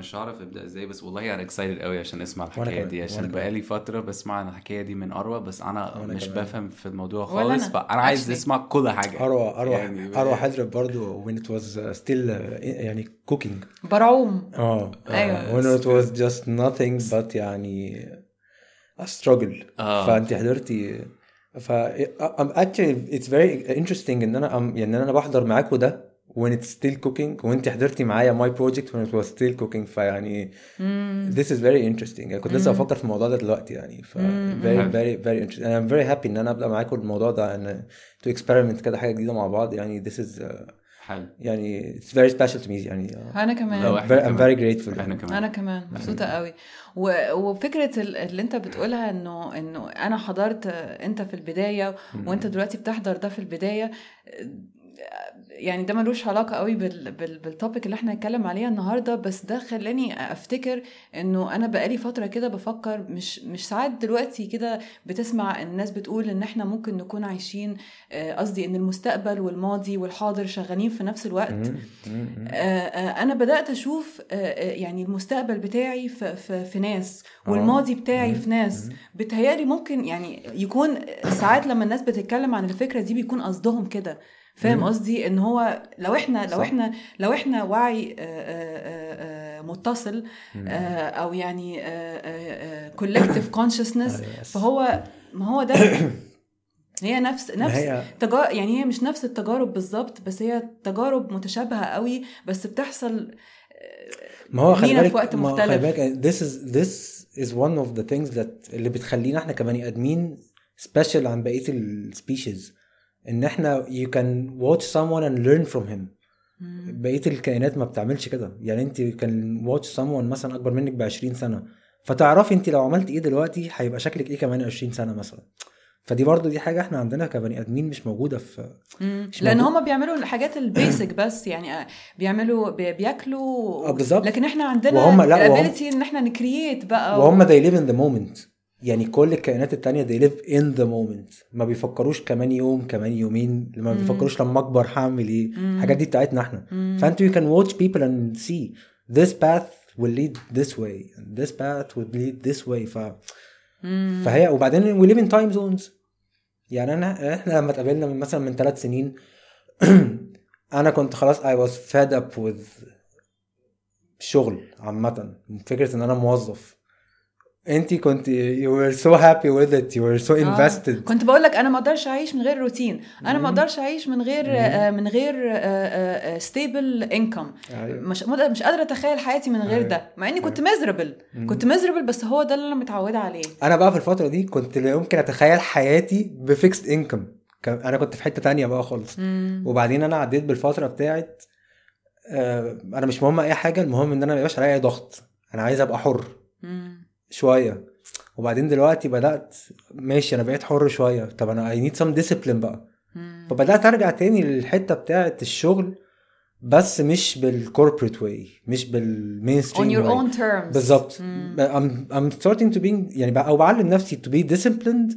مش عارف ابدا ازاي، بس والله انا اكسايتد قوي عشان اسمع وانا الحكايه كمان دي، عشان بقالي فتره بسمع عن الحكايه دي من اروى، بس انا وانا مش كمان بفهم في الموضوع ولا خالص، انا فانا عايز actually. اسمع كل حاجه اروى يعني. حضرت برضو when it was still يعني cooking. برعوم. when it was just nothing but يعني a struggle. فانت حضرتي actually it's very interesting ان انا يعني انا بحضر معاكم ده when it's still cooking، وانت حضرتي معايا my project when it was still cooking. فيعني this is very interesting. يعني كنت لسه بفكر في الموضوع ده دلوقتي يعني. ف very very very interesting. I'm very happy ان انا ابدا معاكم الموضوع ده، ان to experiment كده حاجه جديده مع بعض يعني. this is حلو يعني it's very special to me يعني. انا كمان لو I'm very grateful. انا كمان مبسوطه قوي. وفكره اللي انت بتقولها انه انا حضرت انت في البدايه وانت دلوقتي بتحضر ده في البدايه، يعني ده ملوش علاقه قوي بالتوبيك اللي احنا هنتكلم عليها النهارده، بس ده خلاني افتكر انه انا بقالي فتره كده بفكر، مش ساعات دلوقتي كده بتسمع الناس بتقول ان احنا ممكن نكون عايشين، قصدي ان المستقبل والماضي والحاضر شغالين في نفس الوقت. انا بدات اشوف يعني المستقبل بتاعي في ناس، والماضي بتاعي في ناس. بتهيالي ممكن يعني يكون ساعات لما الناس بتتكلم عن الفكره دي بيكون قصدهم كده. فاهم قصدي؟ ان هو لو احنا وعي متصل، او يعني collective consciousness، فهو ما هو ده هي نفس يعني هي مش نفس التجارب بالظبط، بس هي تجارب متشابهة قوي، بس بتحصل ما هو خلي بالك في وقت مختلف. this is one of the things that اللي بتخلينا احنا كبني ادمين special عن بقية السبيشيز، ان احنا you can watch someone and learn from him. بقية الكائنات ما بتعملش كده يعني. انت can watch someone مثلا اكبر منك ب20 سنة، فتعرفي انت لو عملت ايه دلوقتي هيبقى شكلك ايه كمان 20 سنة مثلا. فدي برضو دي حاجة احنا عندنا كبني ادمين مش موجودة في لان هم بيعملوا الحاجات البيسك بس يعني بيعملوا بياكلوا لكن احنا عندنا الابيليتي ان احنا نكرييت بقى، وهم they live in the moment. يعني كل الكائنات التانية they live in the moment، ما بيفكروش كمان يوم كمان يومين، ما بيفكروش لما اكبر هعمل ايه. الحاجات دي بتاعتنا احنا. فانت you can watch people and see this path will lead this way and this path will lead this way. فهي وبعدين we live in time zones. يعني احنا لما اتقابلنا من 3 سنين انا كنت خلاص I was fed up with شغل عامة، فكرة ان انا موظف. انتي كنت you were so happy with it, you were so invested. كنت بقول لك انا ما اقدرش اعيش من غير روتين، انا ما اقدرش اعيش من غير stable income. مش قادره اتخيل حياتي من غير ده، مع اني كنت miserable بس هو ده اللي انا متعوده عليه. انا بقى في الفتره دي كنت لا يمكن اتخيل حياتي بفيكست انكم. انا كنت في حته تانية بقى خالص. وبعدين انا عديت بالفتره بتاعت انا مش مهم اي حاجه، المهم ان انا ما يبقاش عليا اي ضغط، انا عايز ابقى حر شويه. وبعدين دلوقتي بدات ماشي انا بقيت حر شويه، طب انا I need some discipline بقى. فبدات ارجع تاني للحته بتاعت الشغل، بس مش بالكوربريت واي، مش بالمينستريم on your own terms. بالظبط. I'm starting to be يعني او بعلم نفسي to be disciplined.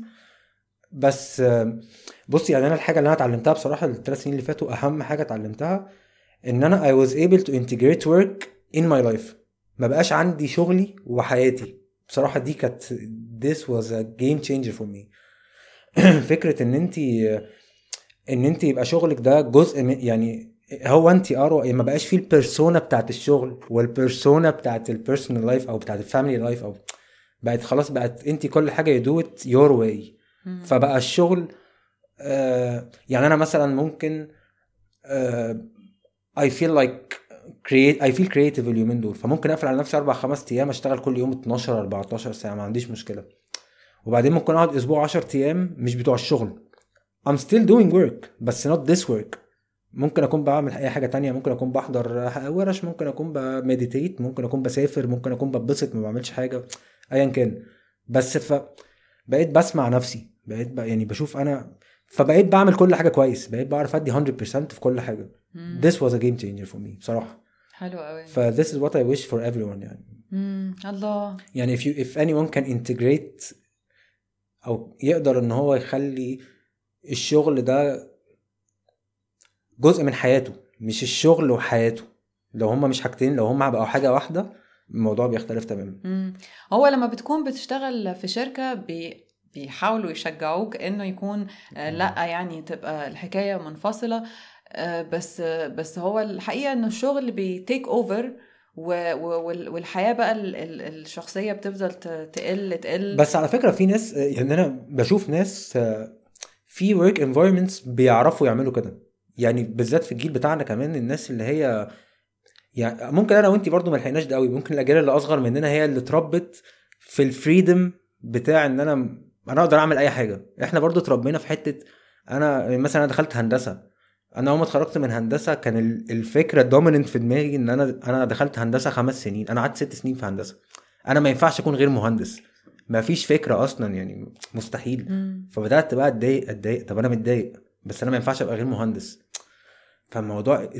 بس بصي يعني انا الحاجه اللي انا اتعلمتها بصراحه ال3 سنين اللي فاتوا، اهم حاجه اتعلمتها ان انا I was able to integrate work in my life. ما بقاش عندي شغلي وحياتي بصراحه. دي كانت this was a game changer for me. فكره ان انت يبقى شغلك ده جزء يعني هو انت ما بقاش فيه البيرسونا بتاعت الشغل والبيرسونا بتاعت البيرسونال لايف او بتاعت الفاميلي لايف، او بقت خلاص بقت انت كل حاجه you do it your way. فبقى الشغل يعني انا مثلا ممكن I feel creative اليومين دول، فممكن اقفل على نفسي 4-5 ايام اشتغل كل يوم 12-14 ساعه، ما عنديش مشكله. وبعدين ممكن اقعد اسبوع 10 ايام مش بتوع الشغل I'm still doing work بس not this work. ممكن اكون بعمل اي حاجه تانية، ممكن اكون بحضر ورش، ممكن اكون بمديتيت، ممكن اكون بسافر، ممكن اكون ببسط ما بعملش حاجه ايا كان. بس بقيت بسمع نفسي، بقيت يعني بشوف انا، فبقيت بعمل كل حاجه كويس، بقيت بعرف ادي 100% في كل حاجه. This was a game changer for me بصراحه. حلو قوي. this is what I wish for everyone يعني. الله. يعني if anyone can integrate او يقدر ان هو يخلي الشغل ده جزء من حياته، مش الشغل وحياته، لو هما مش حاجتين، لو هما بقوا حاجة واحدة الموضوع بيختلف تماما. هو لما بتكون بتشتغل في شركة بيحاولوا يشجعوك انه يكون لا يعني تبقى الحكاية منفصلة، بس هو الحقيقة انه الشغل بيتيك اوفر والحياة بقى الشخصية بتفضل تقل. بس على فكرة في ناس، يعني انا بشوف ناس في work environments بيعرفوا يعملوا كده، يعني بالذات في الجيل بتاعنا كمان، الناس اللي هي يعني ممكن انا وانتي برضو ما لحقناش ده قوي، ممكن الاجيال اللي اصغر مننا هي اللي اتربت في الفريدم بتاع ان انا اقدر اعمل اي حاجه. احنا برضو اتربينا في حته، انا مثلا انا دخلت هندسه، انا اول ما اتخرجت من هندسه كان الفكره الدوميننت في دماغي ان انا دخلت هندسه 5 سنين، انا قعدت 6 سنين في هندسه، انا ما ينفعش اكون غير مهندس، ما فيش فكره اصلا يعني مستحيل. فبدات بقى اتضايق، طب انا متضايق بس انا ما ينفعش ابقى غير مهندس. فالموضوع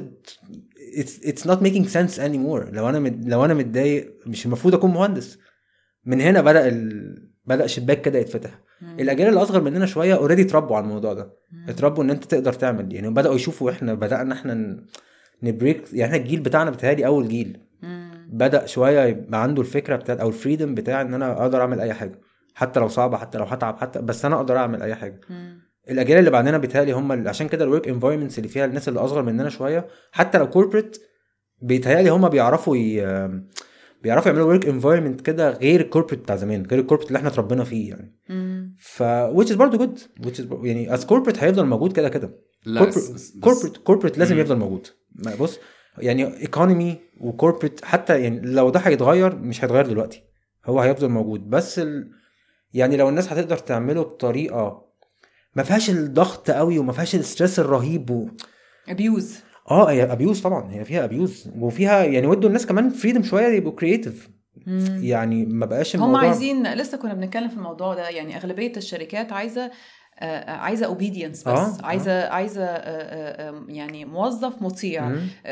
it's not making sense anymore. لو انا متضايق مش المفروض اكون مهندس. من هنا بدأ شباك كده يتفتح. الاجيال اللي اصغر مننا شويه اوريدي اتربوا على الموضوع ده، اتربوا ان انت تقدر تعمل، يعني بدأوا يشوفوا احنا بدأنا احنا نبريك، يعني احنا الجيل بتاعنا بتهيألي اول جيل بدأ شويه يبقى عنده الفكره بتاعت او الفريدم بتاع ان انا اقدر اعمل اي حاجه، حتى لو صعبه، حتى لو هتعب، حتى بس انا اقدر اعمل اي حاجه. الاجيال اللي بعدنا بيتهيألي هم عشان كده الورك انفايرمنتس اللي فيها الناس اللي اصغر مننا شويه، حتى لو كوربريت، بيتهيألي هم بيعرفوا يعملوا ورك انفايرمنت كده غير الكوربريت بتاع زمان، غير الكوربريت اللي احنا اتربينا فيه يعني. which is برضه good، يعني as corporate هيفضل موجود كده كده. corporate لازم يفضل موجود. بص يعني economy وcorporate حتى يعني لو ده هيتغير مش هيتغير دلوقتي، هو هيفضل موجود، بس يعني لو الناس هتقدر تعمله بطريقه ما فيهاش الضغط قوي وما فيهاش الستريس الرهيب ابيوز. هي ابيوز طبعا، هي فيها ابيوز وفيها يعني ودوا الناس كمان فريدم شويه يبقوا كرييتيف، يعني ما بقاش الموضوع هم عايزين. لسه كنا بنتكلم في الموضوع ده، يعني اغلبيه الشركات عايزه اوبيدينس بس عايزه يعني موظف مطيع.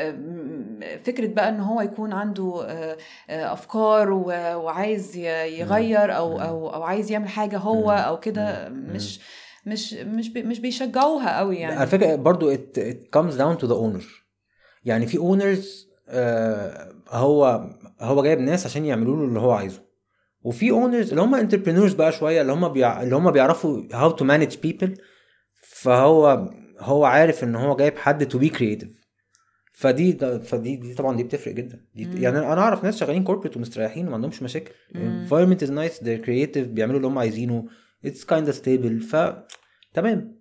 فكره بقى ان هو يكون عنده افكار وعايز يغير او عايز يعمل حاجه هو او كده، مش بيشجعوها قوي يعني. على فكره برضو it comes down to the owner. يعني في owners هو جايب ناس عشان يعملوا له اللي هو عايزه، وفي owners اللي هم entrepreneurs بقى شويه، اللي هم بيعرفوا how to manage people. فهو عارف ان هو جايب حد to be creative. فدي طبعا دي بتفرق جدا. يعني انا اعرف ناس شغالين كوربريت ومستريحين وما عندهمش مشاكل. environment is nice, they're creative, بيعملوا اللي هم عايزينه, it's kind of stable. تمام.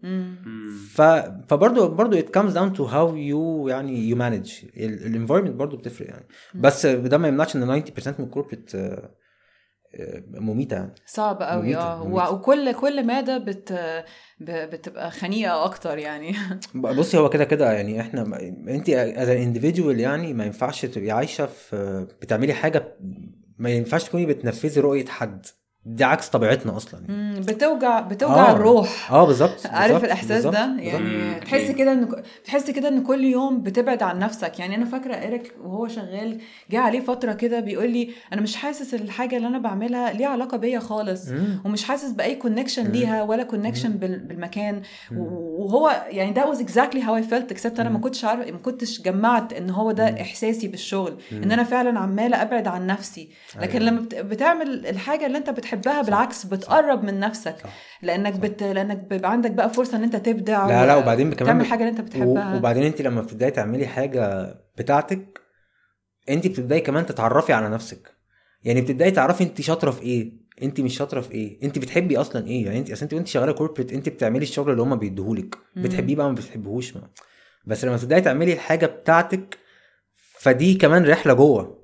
فبرضه it comes down to how you يعني you manage الانفايرمنت، برضه بتفرق يعني. بس ده ما يمنعش ان 90% من الكوربريت مميتة يعني. صعب قوي. وكل مادة بتبقى خنيقة اكتر يعني. بصي هو كده يعني احنا انت as an individual يعني ما ينفعش تبقي عايشة في بتعملي حاجة ما ينفعش تكوني بتنفذي رؤية حد، دي عكس طبيعتنا اصلا يعني. بتوجع الروح. بالظبط. عارف الاحساس ده يعني. تحس كده ان كل يوم بتبعد عن نفسك يعني. انا فاكره إيريك وهو شغال جه عليه فتره كده بيقول لي انا مش حاسس الحاجه اللي انا بعملها ليها علاقه بيا خالص، ومش حاسس باي كونكشن ليها ولا كونكشن بالمكان. وهو يعني that was exactly how I felt except انا ما كنتش جمعت ان هو ده احساسي بالشغل، ان انا فعلا عماله ابعد عن نفسي. لكن لما بتعمل الحاجه اللي انت بتحبها بالعكس بتقرب من نفسك. لانك بيبقى عندك بقى فرصه ان انت تبدع. لا وبعدين كمان تعمل حاجه اللي انت بتحبها. وبعدين انت لما بتبداي تعملي حاجه بتاعتك انت بتبداي كمان تتعرفي على نفسك. يعني بتبداي تعرفي انت شاطره في ايه، انت مش شاطره في ايه، انت بتحبي اصلا ايه. يعني انت وانت شغاله كوربريت انت بتعملي الشغل اللي هم بيديهولك، بتحبيه بقى ما بتحبهوش بس لما تبداي تعملي الحاجه بتاعتك فدي كمان رحله جوه.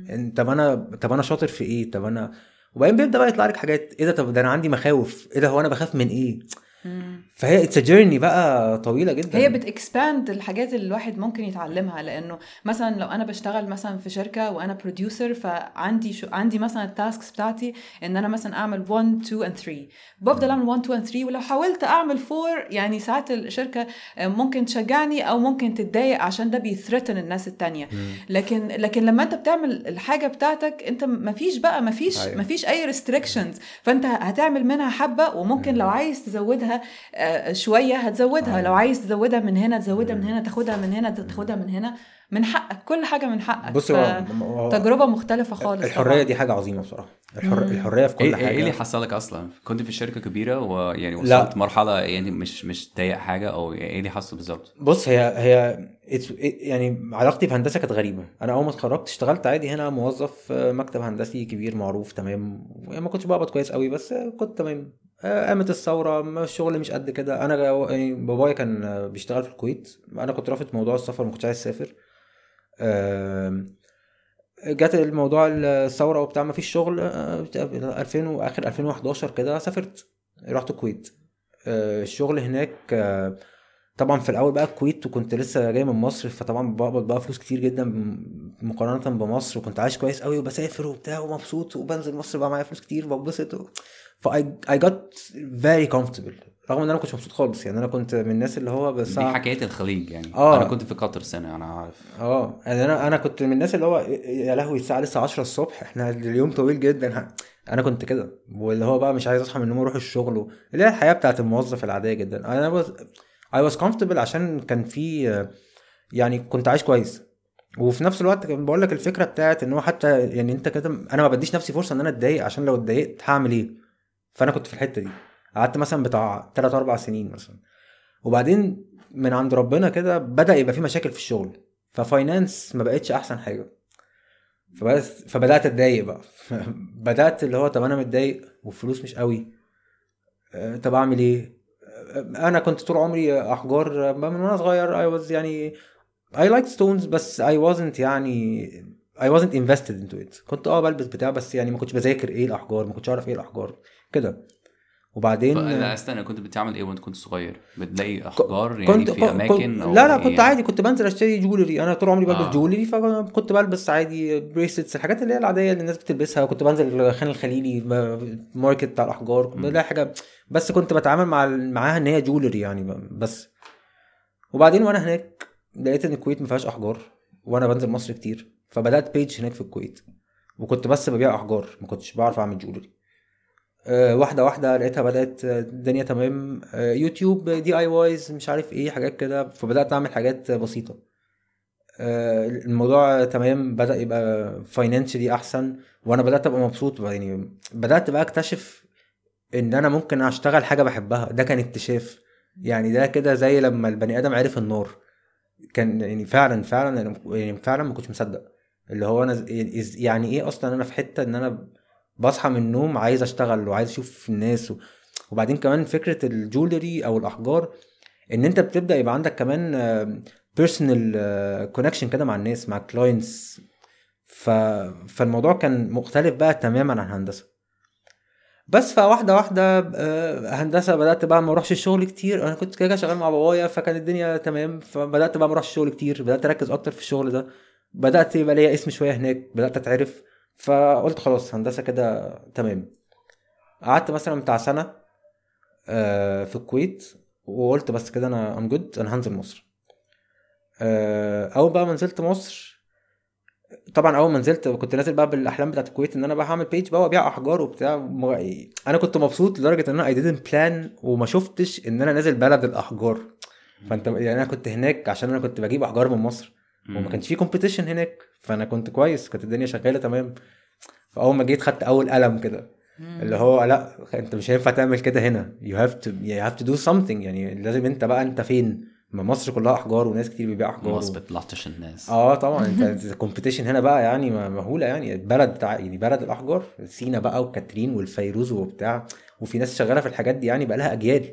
طب انا شاطر في ايه، طب انا وبعدين بيبدا بقى يطلع لك حاجات ايه ده، طب ده انا عندي مخاوف، ايه ده هو انا بخاف من ايه. فهي اتس جيرني بقى طويله جدا. هي بتكسباند الحاجات اللي الواحد ممكن يتعلمها. لانه مثلا لو انا بشتغل مثلا في شركه وانا بروديوسر، فعندي مثلا التاسكس بتاعتي ان انا مثلا اعمل 1 2 and 3، بفضل اعمل 1 2 and 3، ولو حاولت اعمل 4 يعني ساعات الشركه ممكن تشجعني او ممكن تتضايق عشان ده بيثرتن الناس التانية. لكن لما انت بتعمل الحاجه بتاعتك انت مفيش اي ريستريكشنز، فانت هتعمل منها حبه وممكن لو عايز تزودها عليها شويه هتزودها، لو عايز تزودها من هنا تزودها من هنا، تاخدها من هنا تاخدها من هنا، من حقك، كل حاجه من حقك. بص تجربه مختلفه خالص. الحريه طبعا. دي حاجه عظيمه بصراحه. الحريه في كل حاجه. ايه اللي حصل لك اصلا؟ كنت في شركه كبيره ويعني وصلت مرحله يعني مش ضايق حاجه، او ايه اللي حصل بالظبط؟ بص هي يعني علاقتي بهندسه كانت غريبه. انا اول ما اتخرجت اشتغلت عادي هنا موظف مكتب هندسي كبير معروف تمام، ما كنتش بقبض كويس قوي بس كنت تمام. قامت الثوره، الشغل مش قد كده. انا يعني بابايا كان بيشتغل في الكويت، انا كنت رافض موضوع السفر، ما كنتش عايز اسافر. جات الموضوع الثوره وبتاع، ما فيش شغل. 2000 واخر 2011 كده سافرت، رحت الكويت. الشغل هناك طبعا في الاول بقى الكويت، وكنت لسه جاي من مصر، فطبعا بقبض بقى فلوس كتير جدا مقارنه بمصر، وكنت عايش كويس قوي وبسافر وبتاع ومبسوط، وبنزل مصر بقى معايا فلوس كتير ببسط I got very comfortable، رغم ان انا ما كنتش مبسوط خالص. يعني انا كنت من الناس اللي هو بس دي حكايه الخليج يعني. انا كنت في قطر سنه، انا عارف. يعني انا كنت من الناس اللي هو يا لهوي الساعه لسه 10 الصبح، احنا اليوم طويل جدا. انا كنت كده، واللي هو بقى مش عايز اصحى من النوم اروح الشغل، اللي هي الحياه بتاعت الموظف العاديه جدا. انا I was comfortable عشان كان في يعني كنت عايش كويس. وفي نفس الوقت بقول لك الفكره بتاعت ان هو حتى يعني انت كده، انا ما بديش نفسي فرصه ان انا اتضايق، عشان لو اتضايقت هعمل ايه. فانا كنت في الحته دي، قعدت مثلا بتاع 3-4 سنين مثلا. وبعدين من عند ربنا كده بدأ يبقى في مشاكل في الشغل، ففاينانس ما بقتش احسن حاجه. فبدأت اتضايق بقى. بدأت اللي هو طب انا متضايق والفلوس مش قوي، طب اعمل ايه؟ انا كنت طول عمري احجار من وانا صغير. I was يعني I liked stones، بس I wasn't يعني I wasn't invested into it. كنت بلبس بتاع، بس يعني ما كنتش بذاكر ايه الاحجار، ما كنتش اعرف ايه الاحجار كده. وبعدين لا استنى، كنت بتعمل ايه وانت كنت صغير؟ بتلاقي احجار يعني في اماكن أو لا كنت عادي، كنت بنزل اشتري جولري. انا طول عمري بلبس جولري، فكنت بلبس عادي بريسلتس، الحاجات اللي هي العاديه اللي الناس بتلبسها. كنت بنزل خان الخليلي ماركت بتاع الاحجار، لا حاجه، بس كنت بتعامل معاها ان هي جولري يعني بس. وبعدين وانا هناك لقيت ان الكويت ما فيهاش احجار، وانا بنزل مصر كتير، فبدات بيج هناك في الكويت، وكنت بس ببيع احجار، ما كنتش بعرف اعمل جولري. واحده واحده لقيتها بدات الدنيا تمام. يوتيوب دي اي وايز مش عارف ايه حاجات كده، فبدات اعمل حاجات بسيطه. الموضوع تمام، بدا يبقى فاينانشلي احسن، وانا بدات ابقى مبسوط. يعني بدات بقى اكتشف ان انا ممكن اشتغل حاجه بحبها. ده كان اكتشاف يعني. ده كده زي لما البني ادم عرف النار، كان يعني فعلا ما كنتش مصدق. اللي هو انا يعني ايه اصلا انا في حته ان انا بصحى من النوم عايز اشتغل وعايز اشوف الناس وبعدين كمان فكرة الجولري او الاحجار، ان انت بتبدأ يبقى عندك كمان بيرسونال كونكشن كده مع الناس، مع كلاينتس. فالموضوع كان مختلف بقى تماما عن هندسة. بس فواحدة واحدة هندسة بدأت بقى ما اروحش الشغل كتير. انا كنت كده شغال مع بابايا، فكان الدنيا تمام، فبدأت بقى ما اروحش الشغل كتير، بدأت اركز اكتر في الشغل ده، بدأت يبقى ليا اسم شوية هناك، بدأت اتعرف. فقلت خلاص هندسة كده تمام. قعدت مثلا بتاع سنة في الكويت، وقلت بس كده انا I'm good، انا هنزل مصر. اول بقى ما نزلت مصر، طبعا اول ما نزلت كنت نازل بقى بالاحلام بتاعت الكويت، ان انا بقى هعمل بيج بقى وابيع احجار وبتاع. انا كنت مبسوط لدرجة ان انا I didn't plan، وما شفتش ان انا نازل بلد الاحجار. فانت يعني انا كنت هناك عشان انا كنت بجيب احجار من مصر، وما كانش في كومبيتيشن هناك، فانا كنت كويس، كانت الدنيا شغالة تمام. فاول ما جيت خدت اول قلم كده، اللي هو لا انت مش هينفع تعمل كده هنا، you have to do something. يعني لازم انت بقى انت فين؟ ما مصر كلها احجار وناس كتير بيبيع احجار، ما بتلطش الناس. طبعا انت الكومبيتيشن هنا بقى يعني مهوله. يعني البلد بتاع يعني بلد الاحجار، سينا بقى وكاترين والفيروز وبتاع، وفي ناس شغاله في الحاجات دي يعني بقى لها اجيال.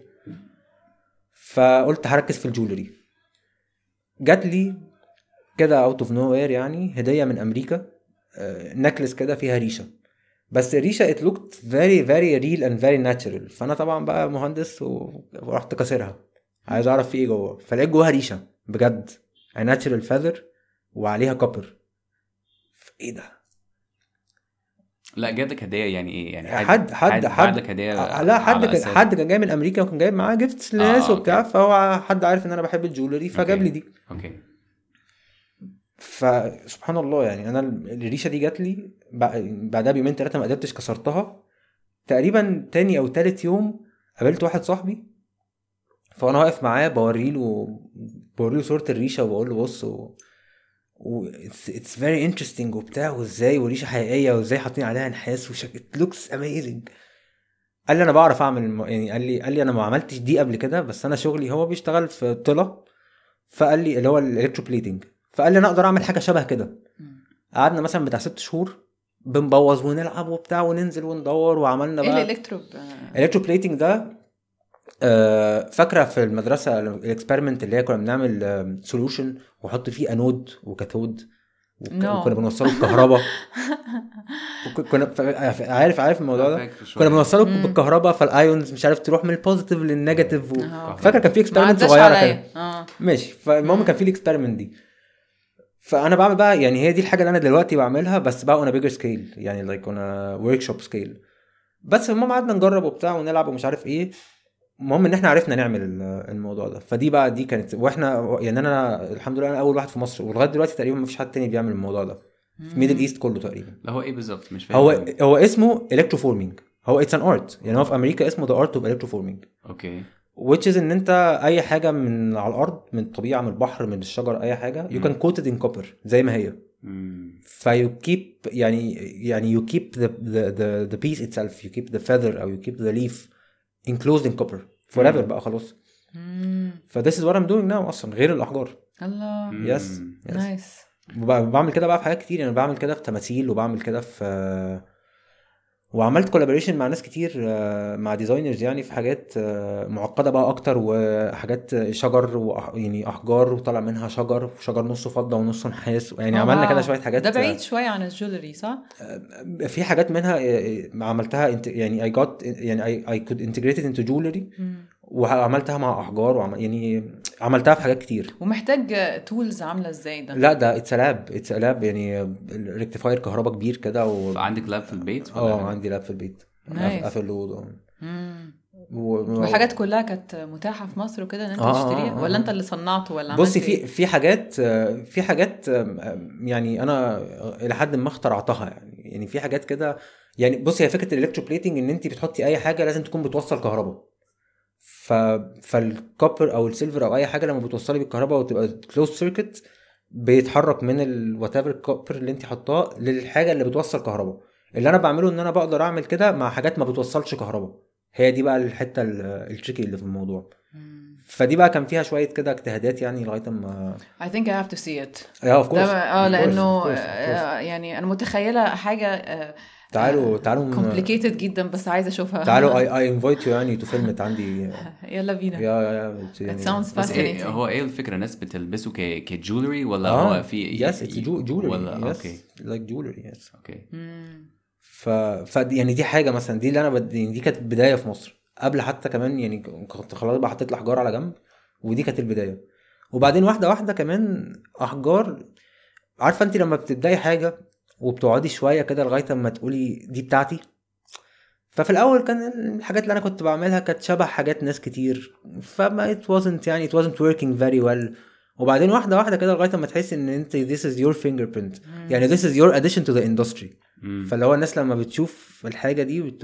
فقلت هركز في الجولري. جات لي كده اوت اوف نو وير يعني هديه من امريكا، نكلس كده فيها ريشه، بس الريشه it looked very very real and very natural. فانا طبعا بقى مهندس ورحت كسرها، عايز اعرف في ايه جوه. فلقيت جواها ريشه بجد natural feather وعليها كوبر. ايه ده؟ لا جابلك هديه يعني ايه؟ يعني حد لك هديه؟ لا حد كان جاي من امريكا، وكان جايب معاه جيفتس لناس وبتاع. فهو حد عارف ان انا بحب الجولري، فجاب لي دي. اوكي. فسبحان الله يعني انا الريشه دي جات لي بعدها بيومين 3 ما قدرتش كسرتها. تقريبا تاني او تالت يوم قابلت واحد صاحبي فانا واقف معاه بوريله صوره الريشه وبقول له بص it's very interesting وبتاع، وازاي وريشه حقيقيه وازاي حاطين عليها نحاس it looks amazing. قال لي انا بعرف اعمل يعني قال لي انا ما عملتش دي قبل كده، بس انا شغلي هو بيشتغل في طلة، فقال لي اللي هو الالكتروبليتنج، فقال لي انا اقدر اعمل حاجه شبه كده. قعدنا مثلا بتاع 6 شهور بنبوظ ونلعب وبتاع وننزل وندور، وعملنا بقى الالكتروبليتنج ده. فاكره في المدرسه الاكسبيرمنت اللي هي كنا بنعمل سوليوشن وحط فيه انود وكاثود وكنا بنوصله الكهرباء كنا عارف الموضوع ده، كنا بنوصله بالكهرباء، فالايونز مش عارف تروح من البوزيتيف للنيجاتيف فاكره كان في اكسبيرمنت صغيره كده ماشي. فالمهم كان في الاكسبيرمنت دي، فانا بعمل بقى يعني هي دي الحاجه اللي انا دلوقتي بعملها، بس بقى انا بيجر سكيل يعني لايك انا ورك شوب سكيل. بس المهم قعدنا نجرب وبتاع ونلعب ومش عارف ايه. المهم ان احنا عرفنا نعمل الموضوع ده. فدي بقى دي كانت، واحنا يعني انا الحمد لله انا اول واحد في مصر، ولغايه دلوقتي تقريبا ما فيش حد تاني بيعمل الموضوع ده في ميدل ايست كله تقريبا. لا هو ايه بالظبط مش فاهم. هو اسمه الكتروفورمينج، هو اتس ان ارت يعني. هو في امريكا اسمه ذا ارت اوف الكتروفورمينج. اوكي. which is ان انت اي حاجه من على الارض، من الطبيعه، من البحر، من الشجر، اي حاجه you can coat it in copper زي ما هي. فيو keep يعني you keep the piece itself, you keep the feather او you keep the leaf enclosed in copper forever بقى خلاص. ف this is what I'm doing now اصلا غير الاحجار. الله yes نايس. بعمل كده بقى في حاجات كتير. انا بعمل كده في تماثيل، وبعمل كده في وعملت كولابوريشن مع ناس كتير، مع ديزاينرز يعني في حاجات معقده بقى اكتر، وحاجات شجر يعني احجار وطلع منها شجر نصه فضه ونصه نحاس يعني. عملنا كده شويه حاجات. ده بعيد شويه عن الجولري صح؟ في حاجات منها عملتها يعني I got يعني I could integrate it into jewelry وعملتها مع احجار يعني عملتها في حاجات كتير. ومحتاج تولز عامله ازاي ده؟ لا ده اتس لاب يعني ريكتيفاير كهرباء كبير كده. عندك لاب في البيت ولا عندي لاب في البيت قافل له. والحاجات كلها كانت متاحه في مصر وكده ان انت تشتريها ولا انت اللي صنعته ولا بصي في حاجات يعني انا الى حد ما اخترعتها يعني في حاجات كده يعني. بصي هي فكره الالكتروبليتنج ان انت بتحطي اي حاجه لازم تكون بتوصل كهرباء. فالكوبر او السيلفر او اي حاجه لما بتوصلي بالكهرباء وتبقى كلوز سيركت بيتحرك من الواتيفر الكوبر اللي انت حطاه للحاجه اللي بتوصل كهرباء. اللي انا بعمله ان انا بقدر اعمل كده مع حاجات ما بتوصلش كهرباء. هي دي بقى الحته التريكي اللي في الموضوع. فدي بقى كان فيها شويه كده اجتهادات يعني لغايه ما I think I have to see it. of course. لانه يعني انا متخيله حاجه تعالوا complicated جدا بس عايزه اشوفها. تعالوا I invite you يعني to film it عندي. يلا بينا. يا it sounds fascinating. هو ايه الفكره؟ الناس بتلبسه كجولري ولا هو في yes it's jewelry ولا yes okay like jewelry yes okay. ف يعني دي حاجه مثلا دي اللي انا دي كانت بدايه في مصر قبل حتى كمان يعني كنت خلاص بقى حطيت الاحجار على جنب ودي كانت البدايه. وبعدين واحده واحده كمان احجار. عارفه انت لما بتبداي حاجه وبتقعدي شويه كده لغايه اما تقولي دي بتاعتي. ففي الاول كان الحاجات اللي انا كنت بعملها كانت شبه حاجات ناس كتير فما it wasn't working very well. وبعدين واحده واحده كده لغايه اما تحس ان انت this is your fingerprint يعني this is your addition to the industry. فاللي هو الناس لما بتشوف الحاجه دي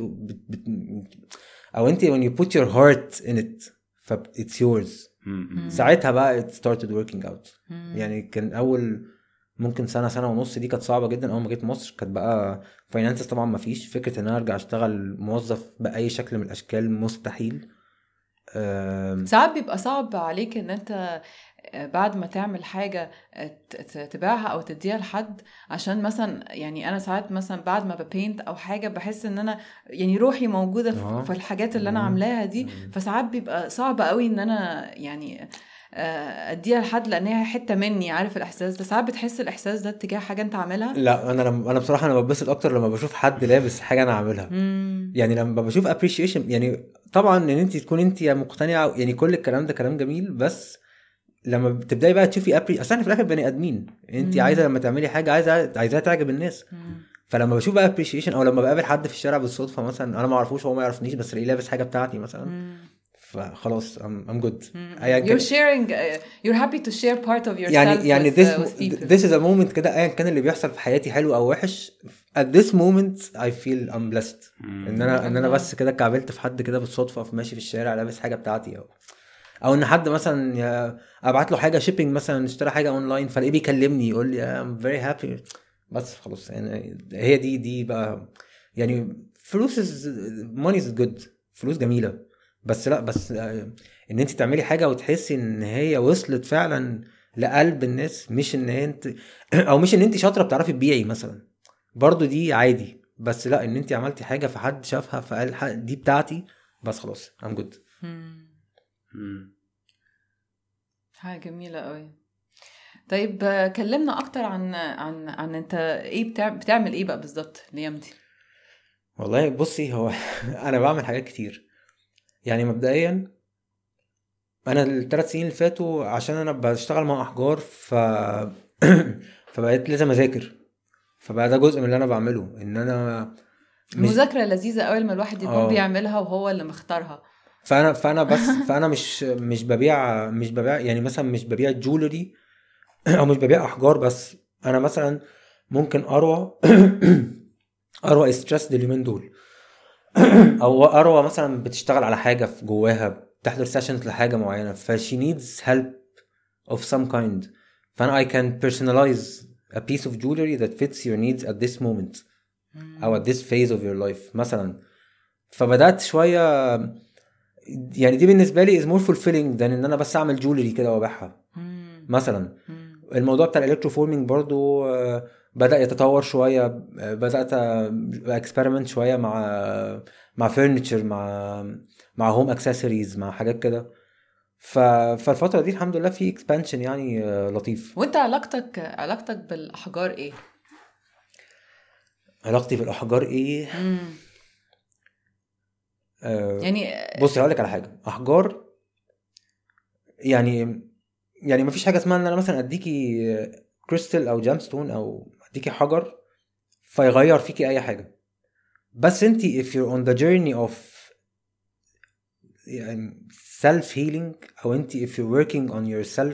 او انت when you put your heart in it ف it's yours. ساعتها بقى it started working out. يعني كان اول ممكن سنة ونص دي كانت صعبة جدا. اول ما جيت مصر كانت بقى فاينانسز طبعا ما فيش فكرة ان انا ارجع اشتغل موظف بأي شكل من الاشكال مستحيل. ساعات بيبقى صعب عليك ان انت بعد ما تعمل حاجة تبيعها او تديها لحد عشان مثلا يعني انا ساعات مثلا بعد ما ببينت او حاجة بحس ان انا يعني روحي موجودة في الحاجات اللي انا عاملاها دي. فساعات بيبقى صعب قوي ان انا يعني اديها لحد لانها حته مني. عارف الاحساس ده؟ ساعات بتحس الاحساس ده تجاه حاجه انت عاملها؟ لا انا بصراحه انا ببسط اكتر لما بشوف حد لابس حاجه انا عاملها. يعني لما بشوف appreciation يعني طبعا ان انت تكون انت مقتنعه يعني كل الكلام ده كلام جميل. بس لما بتبداي بقى تشوفي اصلا في الاخر بني ادمين انت عايزه لما تعملي حاجه عايزاها تعجب الناس. فلما بشوف بقى appreciation او لما بقابل حد في الشارع بالصدفه مثلا انا ما اعرفوش هو ما يعرفنيش بس الاقيه لابس حاجه بتاعتي مثلا فخلاص I'm good. You're sharing you're happy to share part of yourself يعني this is a moment كده ايا كان اللي بيحصل في حياتي حلو او وحش. at this moment I feel I'm blessed ان انا بس كده كعبلت في حد كده بالصدفه في ماشي في الشارع لابس حاجه بتاعتي او ان حد مثلا ابعت له حاجه شيبينج مثلا، اشترى حاجه اونلاين فلاقيه بيكلمني يقول لي I'm very happy، بس خلاص يعني هي دي بقى يعني فلوس money is good، فلوس جميله، بس لا بس ان انت تعملي حاجه وتحسي ان هي وصلت فعلا لقلب الناس، مش ان انت او مش ان انت شاطره بتعرفي تبيعي مثلا، برضو دي عادي، بس لا ان انت عملتي حاجه فحد شافها فقال دي بتاعتي، بس خلاص I'm good. حاجه جميله قوي. طيب كلمنا اكتر عن انت ايه بتعمل ايه بقى بالظبط الايام دي؟ والله بصي هو انا بعمل حاجات كتير يعني. مبدئيا انا ال3 سنين اللي فاتوا عشان انا بشتغل مع احجار فبقيت لازم اذاكر، فبقى ده جزء من اللي انا بعمله، ان انا المذاكره لذيذه قوي لما الواحد يكون بيعملها وهو اللي مختارها. فانا مش ببيع يعني مثلا مش ببيع جولري او مش ببيع احجار، بس انا مثلا ممكن اروى ستريس اليومين دول او اروى مثلا بتشتغل على حاجه في جواها، بتحضر سيشنز لحاجه معينه، فشي needs help of some kind، فانا I can personalize a piece of jewelry that fits your needs at this moment او at this phase of your life مثلا. فبدات شويه يعني دي بالنسبه لي is more fulfilling than ان انا بس اعمل جولري كده وابيعها مثلا. الموضوع بتاع الالكتروفورمينج برضو بدأ يتطور شوية، بدأت اكسبيرمنت شوية مع فيرنيتشر، مع هوم اكسسوارز، مع حاجات كده. فالفترة دي الحمد لله في اكسبانشن يعني لطيف. وانت علاقتك بالاحجار ايه؟ علاقتي بالاحجار ايه؟ يعني بصي هقولك على حاجة. احجار يعني ما فيش حاجة اسمها ان انا مثلا اديكي كريستال او جامستون او اديكي حجر فيغير فيكي اي حاجة، بس انتي if you're on the journey of يعني self healing او انتي if you're working on yourself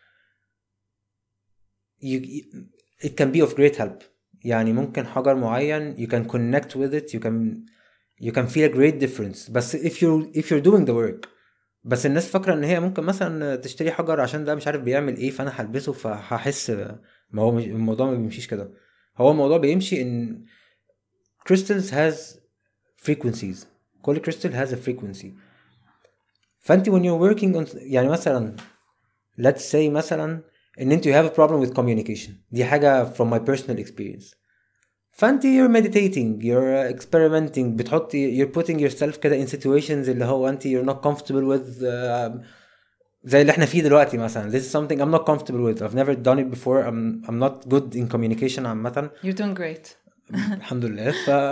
it can be of great help. يعني ممكن حجر معين you can connect with it, you can feel a great difference، بس if you're doing the work. بس الناس فاكرة ان هي ممكن مثلا تشتري حجر عشان ده مش عارف بيعمل ايه فانا هلبسه فهحس، ما هو الموضوع ما بيمشيش كده. هو الموضوع بيمشي ان crystals has frequencies، كل crystal has a frequency. فانت when you're working on يعني مثلا let's say مثلا ان انت you have a problem with communication، دي حاجة from my personal experience، فانت you're meditating you're experimenting بتحطي you're putting yourself كده in situations اللي هو انت you're not comfortable with زي اللي احنا فيه دلوقتي مثلا. this is something I'm not comfortable with, I've never done it before, I'm not good in communication عامة. you're doing great الحمد لله.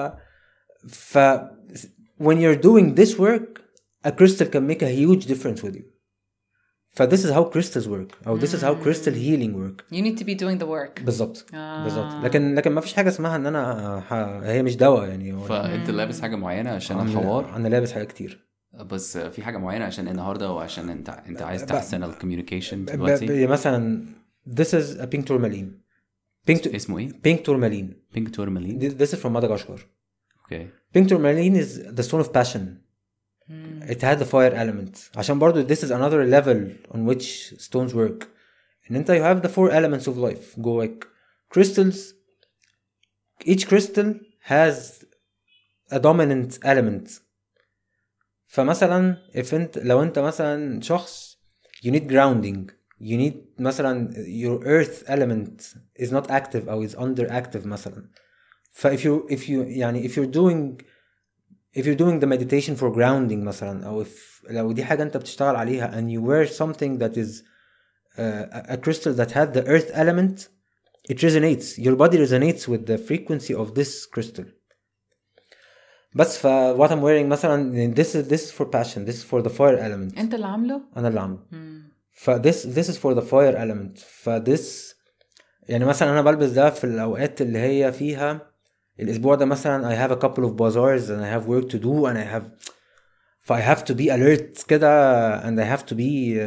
when you're doing this work a crystal can make a huge difference with you. this is how crystals work or this is how crystal healing work. you need to be doing the work. بالظبط بالظبط. لكن ما فيش حاجة اسمها ان انا هي مش دواء يعني. فانت لابس حاجة معينة عشان الحوار؟ انا لابس حاجة كتير، بس في حاجة معينة عشان النهاردة وعشان انت عايز تحسن الكوميونيكيشن دلوقتي؟ مثلا this is a pink tourmaline. اسمه ايه؟ pink tourmaline. pink tourmaline. this is from Madagascar. okay. pink tourmaline is the stone of passion. it had the fire element عشان برضو this is another level on which stones work. ان انت you have the 4 elements of life جواك. crystals, each crystal has a dominant element. فمثلا لو انت مثلا شخص you need grounding, you need مثلا your earth element is not active or is underactive مثلا. if you're doing the meditation for grounding مثلا, او لو دي حاجة انت بتشتغل عليها and you wear something that is a crystal that had the earth element, it resonates, your body resonates with the frequency of this crystal. بس what I'm wearing مثلا this is for passion, this is for the fire element. انت اللي عامله؟ انا اللي عامله. this is for the fire element. this يعني مثلا انا بلبس ده في الاوقات اللي هي فيها الاسبوع ده مثلا I have a couple of bazaars and I have work to do and I have to be alert كده and I have to be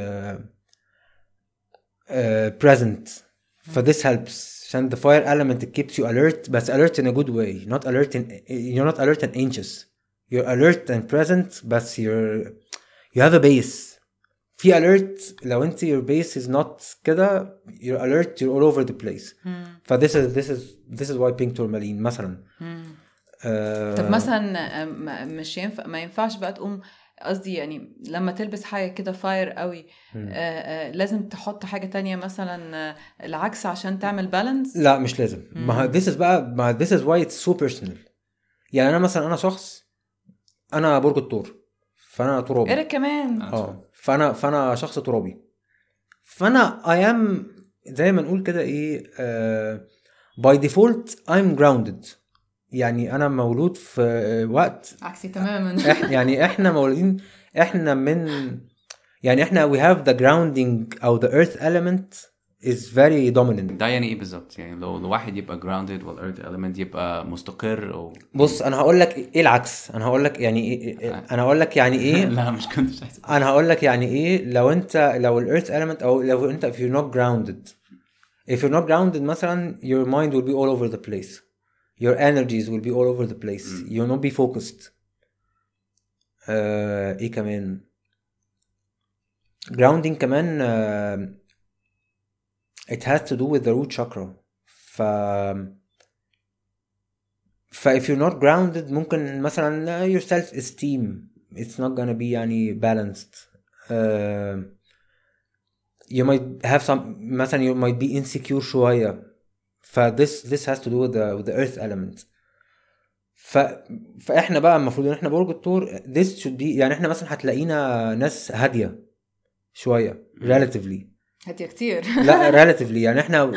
present. this helps عشان the fire element it keeps you alert, but alert in a good way, you're not alert and anxious, you're alert and present, but you have a base. في alert لو انت your base is not كده you're alert you're all over the place. ف this is why pink tourmaline مثلا. طب مثلا مش ينفع ما ينفعش بقى تقوم قصدي يعني لما تلبس حاجة كده فاير قوي لازم تحط حاجة تانية مثلا العكس عشان تعمل بالانس؟ لا مش لازم. ما this is بقى ما this is why it's so personal. يعني انا مثلا انا شخص انا برج الثور فانا ترابي. ايه كمان فانا شخص ترابي فانا I am زي ما نقول كده ايه by default I'm grounded. يعني انا مولود في وقت عكسي تماما. يعني احنا مولودين احنا من يعني احنا we have the grounding او the earth element is very dominant. ده يعني ايه بالظبط؟ يعني لو الواحد يبقى grounded والearth element يبقى مستقر او بص انا هقول لك ايه العكس. انا هقول لك يعني ايه انا هقول لك يعني ايه لا مش كنتش احسن. انا هقول لك يعني ايه لو earth element او لو انت if you're not grounded مثلا your mind will be all over the place. Your energies will be all over the place. You'll not be focused. ايه كمان grounding كمان it has to do with the root chakra. if you're not grounded ممكن مثلا your self esteem it's not gonna be يعني balanced. you might have some مثلا you might be insecure شوية. this has to do with the earth element. فاحنا بقى المفروض ان احنا برج الثور this should be يعني احنا مثلا هتلاقينا ناس هادية شوية relatively. هادية كتير. لا relatively يعني احنا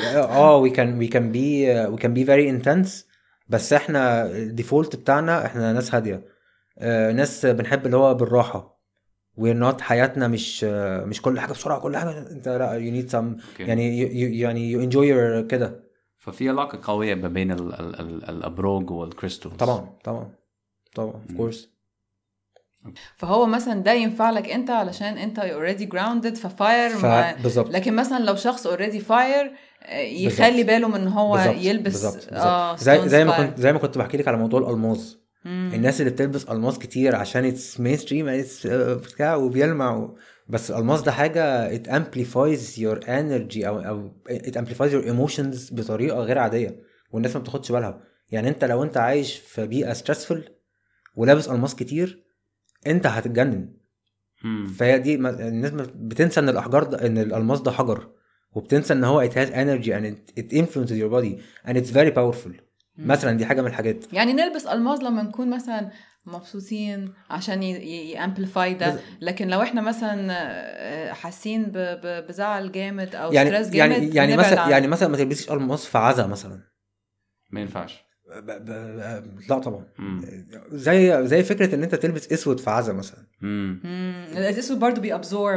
we can be very intense بس احنا الديفولت بتاعنا احنا ناس هادية. ناس بنحب اللي هو بالراحة. we're not حياتنا مش كل حاجة بسرعة كل حاجة انت لا you need some يعني you enjoy your كده. ففي علاقة قوية ما بين الأبراج والكريستالز. طبعا of course. فهو مثلا ده ينفع لك انت علشان انت already grounded ففاير بالظبط. لكن مثلا لو شخص already فاير يخلي باله من هو يلبس بالزبط. زي ما كنت بحكي لك على موضوع الألماس. الناس اللي بتلبس ألماس كتير عشان it's mainstream بتاع وبيلمع بس الألماس ده حاجة it amplifies your energy أو it amplifies your emotions بطريقة غير عادية والناس ما بتاخدش بالها. يعني انت لو انت عايش في بيئة stressful ولابس ألماس كتير انت هتتجنن. فهي دي الناس بتنسى ان الأحجار ده ان الألماس ده حجر وبتنسى ان هو it has energy and it influences your body and it's very powerful. مثلا دي حاجة من الحاجات. يعني نلبس ألماس لما نكون مثلا مبسوطين عشان يامبليفاي ده لكن لو احنا مثلا حاسين بزعل جامد او ستريس جامد يعني مثلا ما تلبسيش ألماس في عزا مثلا ما ينفعش. لا طبعا. زي فكره ان انت تلبس اسود في عزا مثلا. الاسود برضو بيابزورب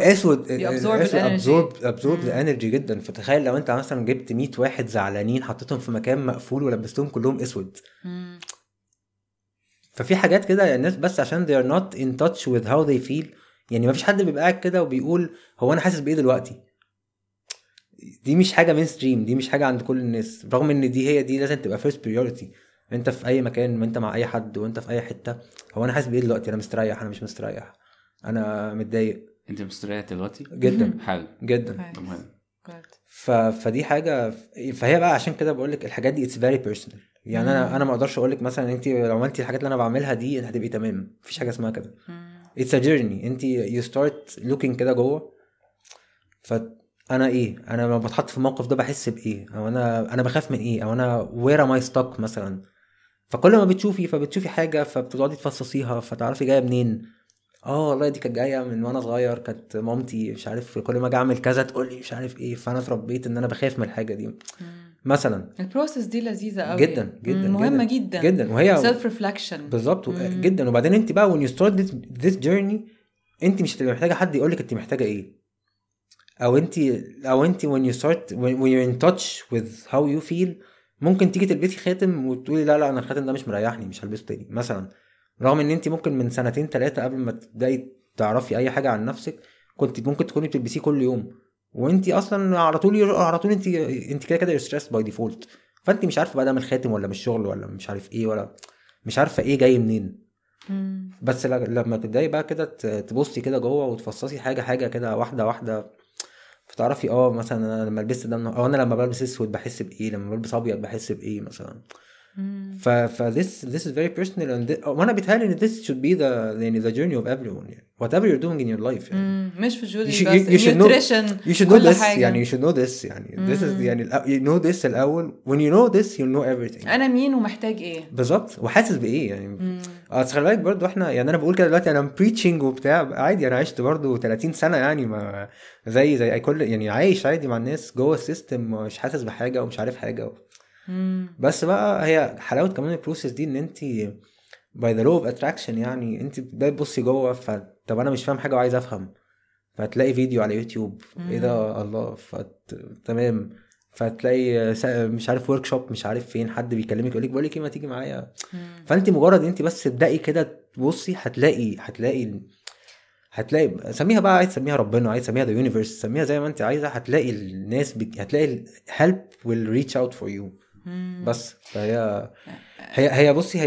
الانرجي جدا. فتخيل لو انت مثلا جبت 100 واحد زعلانين حطيتهم في مكان مقفول ولبستهم كلهم اسود. ففي حاجات كده الناس بس عشان they are not in touch with how they feel. يعني ما فيش حد بيبقى قاعد كده وبيقول هو انا حاسس بايه دلوقتي. دي مش حاجه مين ستريم. دي مش حاجه عند كل الناس رغم ان دي لازم تبقى first priority. انت في اي مكان وانت مع اي حد وانت في اي حته هو انا حاسس بايه دلوقتي. انا مستريح انا مش مستريح انا متضايق. انت مستريح دلوقتي جدا حلو جدا. فدي حاجه. فهي بقى عشان كده بقول لك الحاجات دي it's very personal. يعني انا ما اقدرش اقول لك مثلا انت لو عملتي الحاجات اللي انا بعملها دي انت هتبقي تمام. مفيش حاجه اسمها كده. it's a journey. انت you start looking كده جوه. فانا ايه انا لما بتحط في الموقف ده بحس بايه او انا بخاف من ايه او انا where am I stuck مثلا. فكل ما بتشوفي حاجه فبتقعدي تفصصيها فتعرفي جايه منين. والله دي كانت جايه من وانا صغير. كانت مامتي مش عارف كل ما اجي اعمل كذا تقول لي مش عارف ايه. فانا اتربيت ان انا بخاف من الحاجه دي مثلا. البروسيس دي لذيذه قوي جدا مهمه جدا وهي سيلف ريفلكشن بالظبط جدا. وبعدين انت بقى when you start this journey انت مش هتبقى محتاجه حد يقولك انت محتاجه ايه. او انت when you're in touch with how you feel ممكن تيجي تلبسي خاتم وتقولي لا انا الخاتم ده مش مريحني مش هلبسه تاني مثلا. رغم ان انت ممكن من 2-3 قبل ما تبداي تعرفي اي حاجه عن نفسك كنت ممكن تكوني بتلبسيه كل يوم وانت اصلا على طول انت كده you're stressed by default. فانت مش عارفه بقى ده من الخاتم ولا من الشغل ولا مش عارف ايه ولا مش عارفه ايه جاي منين. بس لما تبداي بقى كده تبصي كده جوه وتفصصي حاجه كده واحده واحده، فتعرفي مثلا انا لما لبست ده انا لما بلبس اسود بحس بايه، لما بلبس ابيض بحس بايه مثلا. this is very personal and وانا بيتهيألي ان this should be the journey of everyone يعني whatever you're doing in your life يعني. مش في جولي بس nutrition you should know this يعني you should know this يعني this is يعني you know this الأول. when you know this you know everything. أنا مين ومحتاج إيه بالظبط وحاسس بإيه يعني. خلي بالك برضو احنا يعني أنا بقول كده دلوقتي أنا preaching وبتاع عادي، أنا عشت برضو 30 سنة يعني ما زي أي كل يعني عايش عادي مع الناس جوه السيستم، مش حاسس بحاجة ومش عارف حاجة بس بقى هي حلاوة كمان البروسيس دي ان انت by the law of attraction يعني انت بتبصي جوه طب انا مش فاهم حاجة وعايز افهم، فتلاقي فيديو على يوتيوب ايه ده الله تمام، فتلاقي مش عارف ورك شوب مش عارف فين حد بيكلمك يقولك بقولك ايه ما تيجي معايا. فانت مجرد انت بس تبدأي كده تبصي هتلاقي سميها بقى، عايز تسميها ربنا، عايز تسميها the universe، سميها زي ما انت عايزة، هتلاقي الناس هتلاقي help will reach out for you. بس هي بصي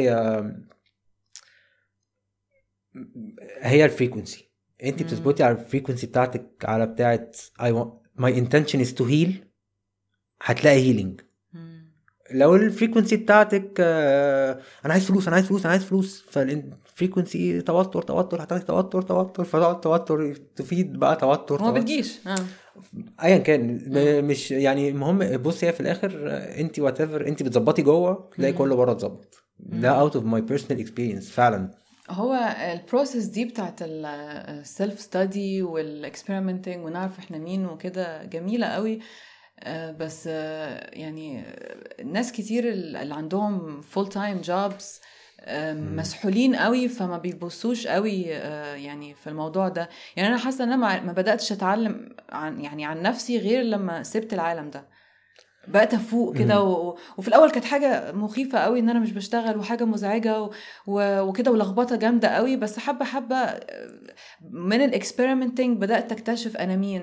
هي الفريكونسي، انت بتثبتي على الفريكونسي بتاعتك على بتاعت my intention is to heal، هتلاقي healing. لو الفريكونسي بتاعتك انا عايز فلوس انا عايز فلوس انا عايز فلوس، فالفريكونسي توتر هتلاقي توتر فتقعد توتر تفيد بقى توتر ما بتجيش ايا كان مش يعني المهم. بصي هي في الاخر انت whatever انت بتظبطي جوه تلاقي كله بره اتظبط. ده out of my personal experience فعلا. هو البروسيس دي بتاعت السيلف ستادي والاكسبيرمنتنج ونعرف احنا مين وكده جميلة قوي، بس يعني ناس كتير اللي عندهم full time jobs مسحولين قوي فما بيبصوش قوي يعني في الموضوع ده. يعني انا حاسه ان انا ما بداتش اتعلم عن نفسي غير لما سبت العالم ده، بقيت افوق كده وفي الاول كانت حاجه مخيفه قوي ان انا مش بشتغل وحاجه مزعجه وكده ولخبطه جامده قوي، بس حبه من الاكسبيرمنتنج بدات اكتشف انا مين.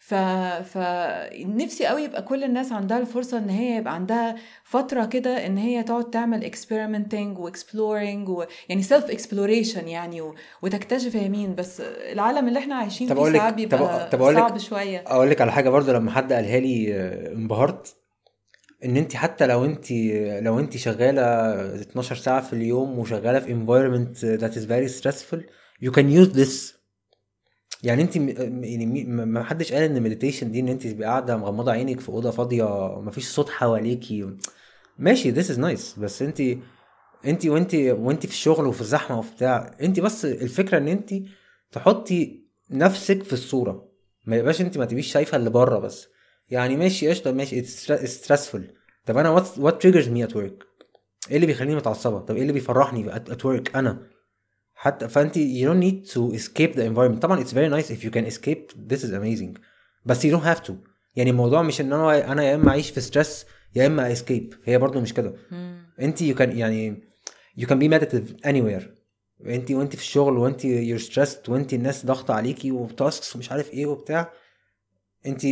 فنفسي قوي يبقى كل الناس عندها الفرصه ان هي يبقى عندها فتره كده ان هي تقعد تعمل اكسبيرمنتنج واكسبلورينج يعني سيلف اكسبلوريشن يعني وتكتشف هي مين. بس العالم اللي احنا عايشين فيه ساعات بيبقى صعب شويه. اقول لك على حاجه برضو لما حد قالها لي انبهرت، ان انت حتى لو انت شغاله 12 ساعه في اليوم وشغاله في environment that is very stressful you can use this. يعني انت يعني ما حدش قال ان المديتيشن دي ان انت تبقى قاعده مغمضه عينك في اوضه فاضيه مفيش صوت حواليكي ماشي this is nice، بس انت وانت في الشغل وفي الزحمه وبتاع، انت بس الفكره ان انت تحطي نفسك في الصوره، ما يبقاش انت ما تبقيش شايفه اللي بره بس. يعني ماشي قشطه ماشي it's stressful، طب انا what triggers me at work، ايه اللي بيخليني متعصبه، طب ايه اللي بيفرحني at work انا حتى. فانت you don't need to escape the environment. طبعا it's very nice if you can escape this is amazing، بس you don't have to. يعني الموضوع مش ان انا يا اما اعيش في stress يا اما escape، هي برضو مش كده. انت you can يعني you can be meditative anywhere. انت وانت في الشغل وانت you're stressed وانت الناس ضغطة عليكي وتاسكس ومش عارف ايه وبتاع، انت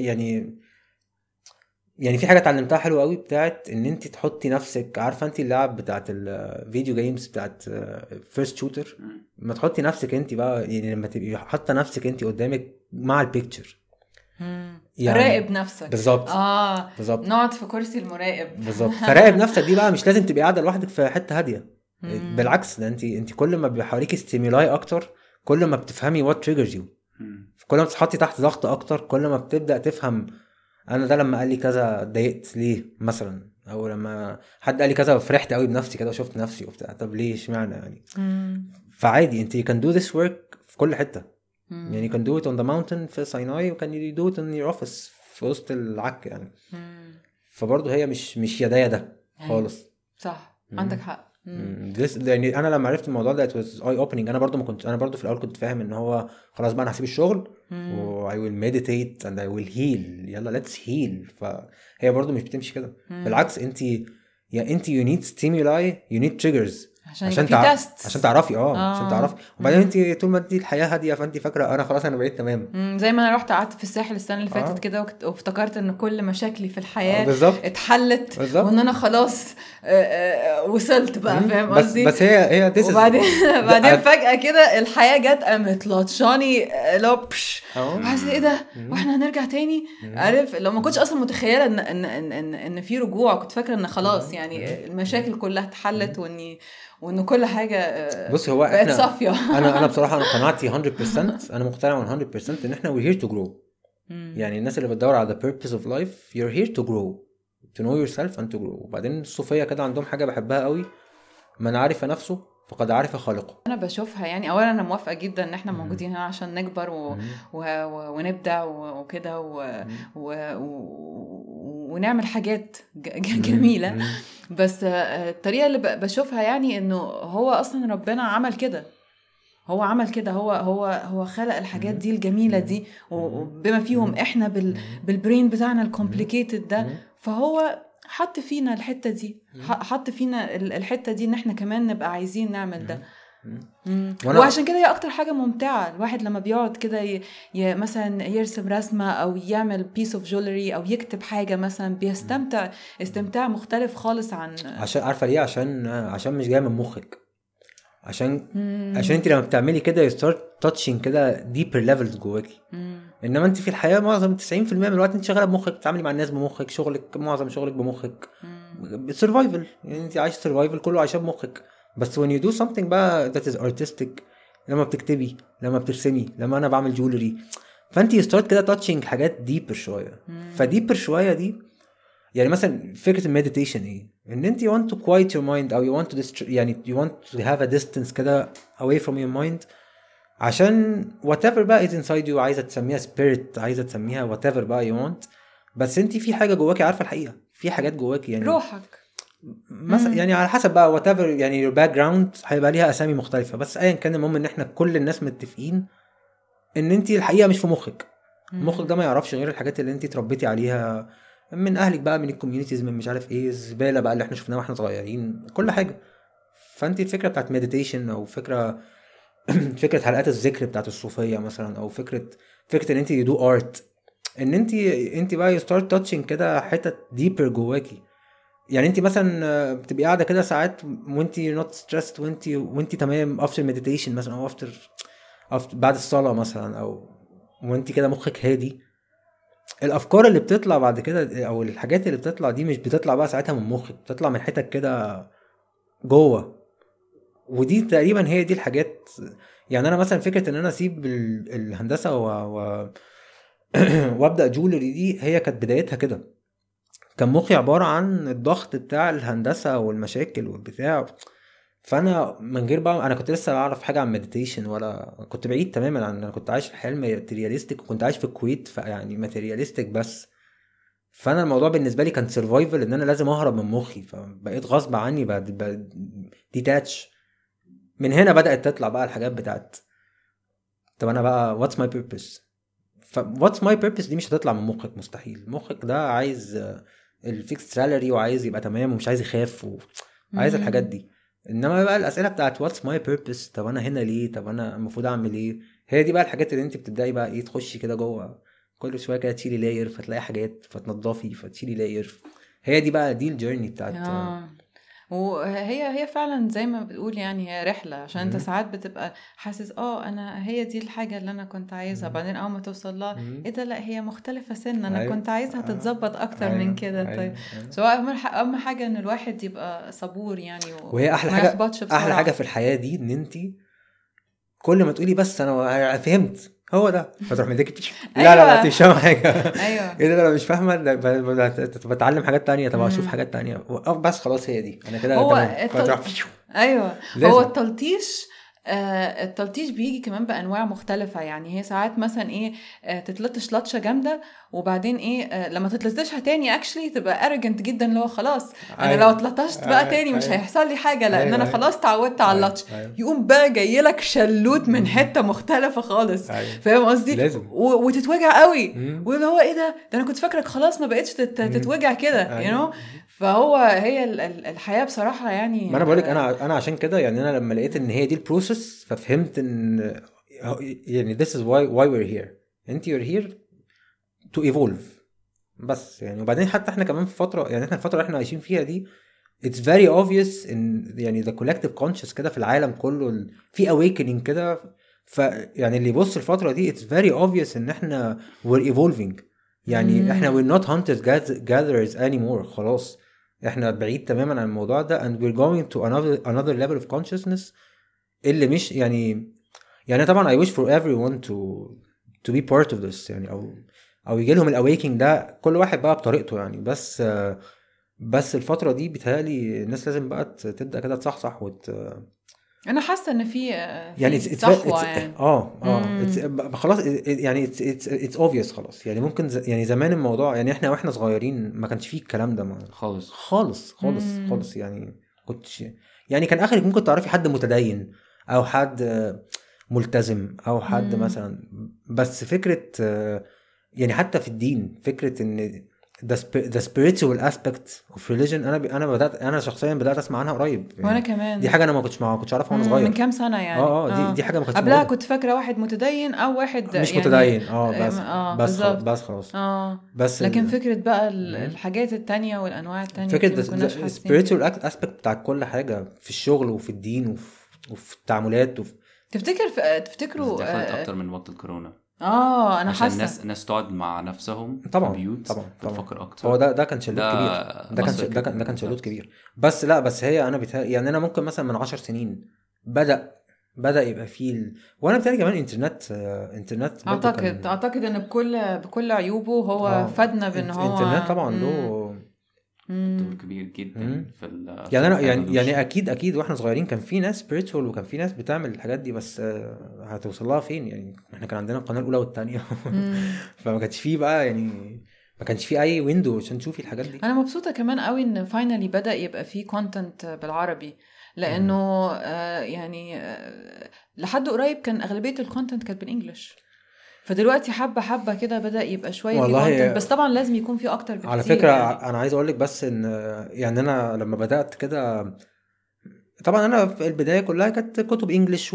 يعني في حاجه اتعلمتها حلوه قوي بتاعت ان انت تحطي نفسك، عارفه انت اللعب بتاعت الفيديو جيمز بتاعت فيرست شوتر، ما تحطي نفسك انت بقى يعني لما تبقي حاطه نفسك انت قدامك مع البيكتشر يعني راقب نفسك بالظبط. بالظبط نقعد في كرسي المراقب بالظبط. فراقب نفسك دي بقى مش لازم تبقي قاعده لوحدك في حته هاديه، بالعكس ده انت كل ما بيحاوليكي ستيمولاي اكتر كل ما بتفهمي وات تريجرز يو، كل ما بتتحطي تحت ضغط اكتر كل ما بتبدا تفهم انا ده لما قال لي كذا اتضايقت ليه مثلا، او لما حد قال لي كذا فرحت قوي بنفسي كده وشفت نفسي وبتاع، طب ليه اشمعنى يعني. فعادي انت can do this work في كل حته. يعني can do it on the mountain في سيناي وكان do it in your office في وسط العك يعني. فبرضه هي مش يدا خالص. صح عندك حق. يعني انا لما عرفت الموضوع ده it was eye opening. انا برضو في الاول كنت فاهم ان هو خلاص بقى انا هسيب الشغل و I will meditate and I will heal، يلا let's heal. فهي برضو مش بتمشي كده، بالعكس انت you need stimuli you need triggers. عشان تيست عشان تعرفي عشان تعرفي. وبعدين انت طول ما انت الحياه هاديه فانت فاكره انا خلاص انا بقيت تمام. زي ما انا رحت قعدت في الساحل السنه اللي فاتت كده وافتكرت ان كل مشاكلي في الحياه اتحلت وان انا خلاص وصلت بقى فاهم قصدي. بس هي بعدين فجاه كده الحياه جت قامت لطشاني لوبش حاسس ايه ده واحنا هنرجع تاني. عارف لو ما كنتش اصلا متخيله ان في رجوع، كنت فاكره ان خلاص يعني المشاكل كلها اتحلت وان كل حاجه بص هو بقت صافيه. انا بصراحه انا قناعتي 100%، انا مقتنع 100% ان احنا we're here to grow. يعني الناس اللي بتدور على the purpose of life you're here to grow, to know yourself and to grow. وبعدين الصوفيه كده عندهم حاجه بحبها قوي، من عرف نفسه فقد عرف خالقه. انا بشوفها يعني اولا انا موافقه جدا ان احنا موجودين هنا عشان نكبر ونبدع وكده ونعمل حاجات جميله. بس الطريقه اللي بشوفها يعني انه هو اصلا ربنا عمل كده، هو عمل كده، هو خلق الحاجات دي الجميله دي وبما فيهم احنا بالبرين بتاعنا الكومبليكيتد ده. فهو حط فينا الحته دي، حط فينا الحته دي ان احنا كمان نبقى عايزين نعمل ده. وعشان كده هي اكتر حاجه ممتعه. الواحد لما بيقعد كده مثلا يرسم رسمه او يعمل بيس اوف جولري او يكتب حاجه مثلا، بيستمتع استمتاع مختلف خالص عن عشان عارفه ليه؟ عشان مش جاي من مخك. عشان انت لما بتعملي كده you start touching كده deeper levels جواكي. انما انت في الحياه معظم 90% من الوقت انت شغاله بمخك، بتتعاملي مع الناس بمخك، شغلك معظم شغلك بمخك، survival يعني انت عايش survival كله عايشه بمخك. بس when you do something بقى that is artistic، لما بتكتبي، لما بترسمي، لما انا بعمل جولري، فانت you start كده touching حاجات deeper شويه. فdeeper شويه دي يعني مثلا فكره المديتيشن ايه؟ ان انت you want to quiet your mind او you want to يعني you want to have a distance كده away from your mind، عشان whatever بقى is inside you، عايزه تسميها spirit، عايزه تسميها whatever بقى you want، بس انت في حاجه جواكي عارفه الحقيقه، في حاجات جواكي يعني روحك مثلا يعني على حسب بقى whatever يعني your background هيبقى ليها اسامي مختلفه، بس ايا كان المهم ان احنا كل الناس متفقين ان انت الحقيقه مش في مخك. مخك ده ما يعرفش غير الحاجات اللي انت اتربيتي عليها من اهلك بقى، من الكوميونيتيز، من مش عارف ايه، الزباله بقى اللي احنا شفناها واحنا صغيرين، كل حاجه. فانت الفكره بتاعت مديتيشن او فكره حلقات الذكر بتاعت الصوفيه مثلا، او فكره ان انت يدو ارت، ان انت بقى ستارت تاتشنج كده حتت ديبر جواكي. يعني انت مثلا بتبقي قاعده كده ساعات وانت نوت ستريسد، وانت تمام افتر مديتيشن مثلا، او افتر بعد الصلاه مثلا، او وانت كده مخك هادي، الافكار اللي بتطلع بعد كده او الحاجات اللي بتطلع دي مش بتطلع بقى ساعتها من مخك، بتطلع من حتت كده جوه. ودي تقريبا هي دي الحاجات. يعني انا مثلا فكره ان انا اسيب الهندسه وابدا جولري دي، هي كانت بدايتها كده. كان مخي عباره عن الضغط بتاع الهندسه والمشاكل والبتاع، فانا من غير بقى انا كنت لسه اعرف حاجه عن مديتيشن، ولا كنت بعيد تماما عن، انا كنت عايش الحياه الماتيرياليستيك، وكنت عايش في الكويت فيعني ماتيرياليستيك بس. فانا الموضوع بالنسبه لي كان سرفايفل، ان انا لازم اهرب من مخي، فبقيت غصب عني ديتاتش. من هنا بدات تطلع بقى الحاجات بتاعت طب انا بقى واتس ماي بيربس. فواتس ماي بيربس دي مش هتطلع من مخك، مستحيل. مخك ده عايز الفيكس سالري، وعايز يبقى تمام، ومش عايز يخاف، وعايز الحاجات دي. انما بقى الاسئله بتاعت واتس ماي بيربس، طب انا هنا ليه، طب انا المفروض اعمل ايه، هي دي بقى الحاجات اللي انت بتبداي بقى ايه، تخشي كده جوه كل شويه كده، تشيلي لاير فتلاقي حاجات، فتنضفي فتشيلي لاير. هي دي بقى دي الجيرني بتاعت وهي فعلا زي ما بتقول يعني هي رحله، عشان انت ساعات بتبقى حاسس انا هي دي الحاجه اللي انا كنت عايزها، بعدين اول ما توصل لها ايه ده، لا هي مختلفه سنه، انا كنت عايزها تتظبط اكتر من كده. طيب سواء اهم حاجه ان الواحد يبقى صبور يعني، وهي احلى حاجه في الحياه دي، ان انت كل ما تقولي بس انا فهمت هو ده، فتروح مديك لا مش فاهم حاجه. ايوه ايه ده انا مش فاهمه، بتعلم حاجات تانية، طب اشوف حاجات تانية، بس خلاص هي دي انا كده تمام. ايوه هو التلطيش بيجي كمان بانواع مختلفه. يعني هي ساعات مثلا ايه تتلطش لطشه جامده وبعدين ايه لما تتلطشها تاني اكشلي تبقى ارجنت جدا اللي هو خلاص انا لو اتلطشت بقى تاني مش هيحصل لي حاجه لان انا خلاص تعودت على اللطش. يقوم بقى جاي لك شلوت من حته مختلفه خالص. فاهم قصدي؟ وتتوجع قوي واللي هو ايه ده انا كنت فاكرك خلاص ما بقتش تتوجع كده you know. فهو هي الحياه بصراحه يعني. ما انا بقولك انا عشان كده يعني انا لما لقيت ان هي دي البروسيس ففهمت ان يعني this is why we're here. انت you're here to evolve بس يعني. وبعدين حتى احنا كمان في فتره يعني احنا الفتره اللي احنا عايشين فيها دي it's very obvious ان يعني the collective conscious كده في العالم كله في awakening كده. فيعني اللي يبص الفتره دي it's very obvious ان احنا we're evolving يعني. احنا we're not hunters gatherers anymore خلاص. احنا بعيد تماما عن الموضوع ده and we're going to another level of consciousness اللي مش يعني طبعا I wish for everyone to be part of this يعني او يجي لهم الاويكينج ده كل واحد بقى بطريقته يعني. بس الفتره دي بيتهيألي الناس لازم بقى تبدا كده تصحصح انا حاسه ان في يعني صحوه يعني خلاص يعني it's obvious خلاص يعني. ممكن يعني زمان الموضوع يعني احنا واحنا صغيرين ما كانش فيه الكلام ده خالص يعني. كنتش يعني كان اخرك ممكن تعرفي حد متدين او حد ملتزم او حد مثلا. بس فكره يعني حتى في الدين فكره ان the spiritual aspect of religion انا شخصيا بدات اسمع عنها قريب يعني. وانا كمان دي حاجه انا ما كنتش اعرفها وانا صغير من كام سنه يعني. دي حاجه ما كنتش قبلها كنت فاكره واحد متدين او واحد مش يعني متدين بس خلاص بس لكن فكره بقى الحاجات التانية والانواع التانية فكره spiritual aspect بتاع كل حاجه في الشغل وفي الدين وفي التعاملات تفتكروا دخلت اكتر من وقت الكورونا. انا حاسه عشان الناس تقعد مع نفسهم طبعا في بيوت تفكر اكتر. هو ده كان شلوت كبير. ده كان شلوت كبير. بس هي انا يعني انا ممكن مثلا من 10 سنين بدا يبقى فيه وانا بتاعي كمان انترنت اعتقد ان بكل عيوبه هو فادنا بان هو انترنت طبعا له دور كبير جدا في يعني انا يعني اكيد واحنا صغيرين كان في ناس spiritual وكان في ناس بتعمل الحاجات دي. بس هتوصل لها فين يعني؟ احنا كان عندنا القناه الاولى والثانيه فما كانش فيه بقى يعني ما كانش فيه اي ويندو عشان تشوفي الحاجات دي. انا مبسوطه كمان قوي ان فاينالي بدا يبقى فيه كونتنت بالعربي لانه يعني لحد قريب كان اغلبيه الكونتنت كانت بالانجلش. فدلوقتي حبة كده بدأ يبقى شوية في كونتنت بس طبعا لازم يكون في أكتر بكتير. على فكرة يعني. أنا عايز أقولك بس إن يعني أنا لما بدأت كده طبعا أنا في البداية كلها كانت كتب إنجليش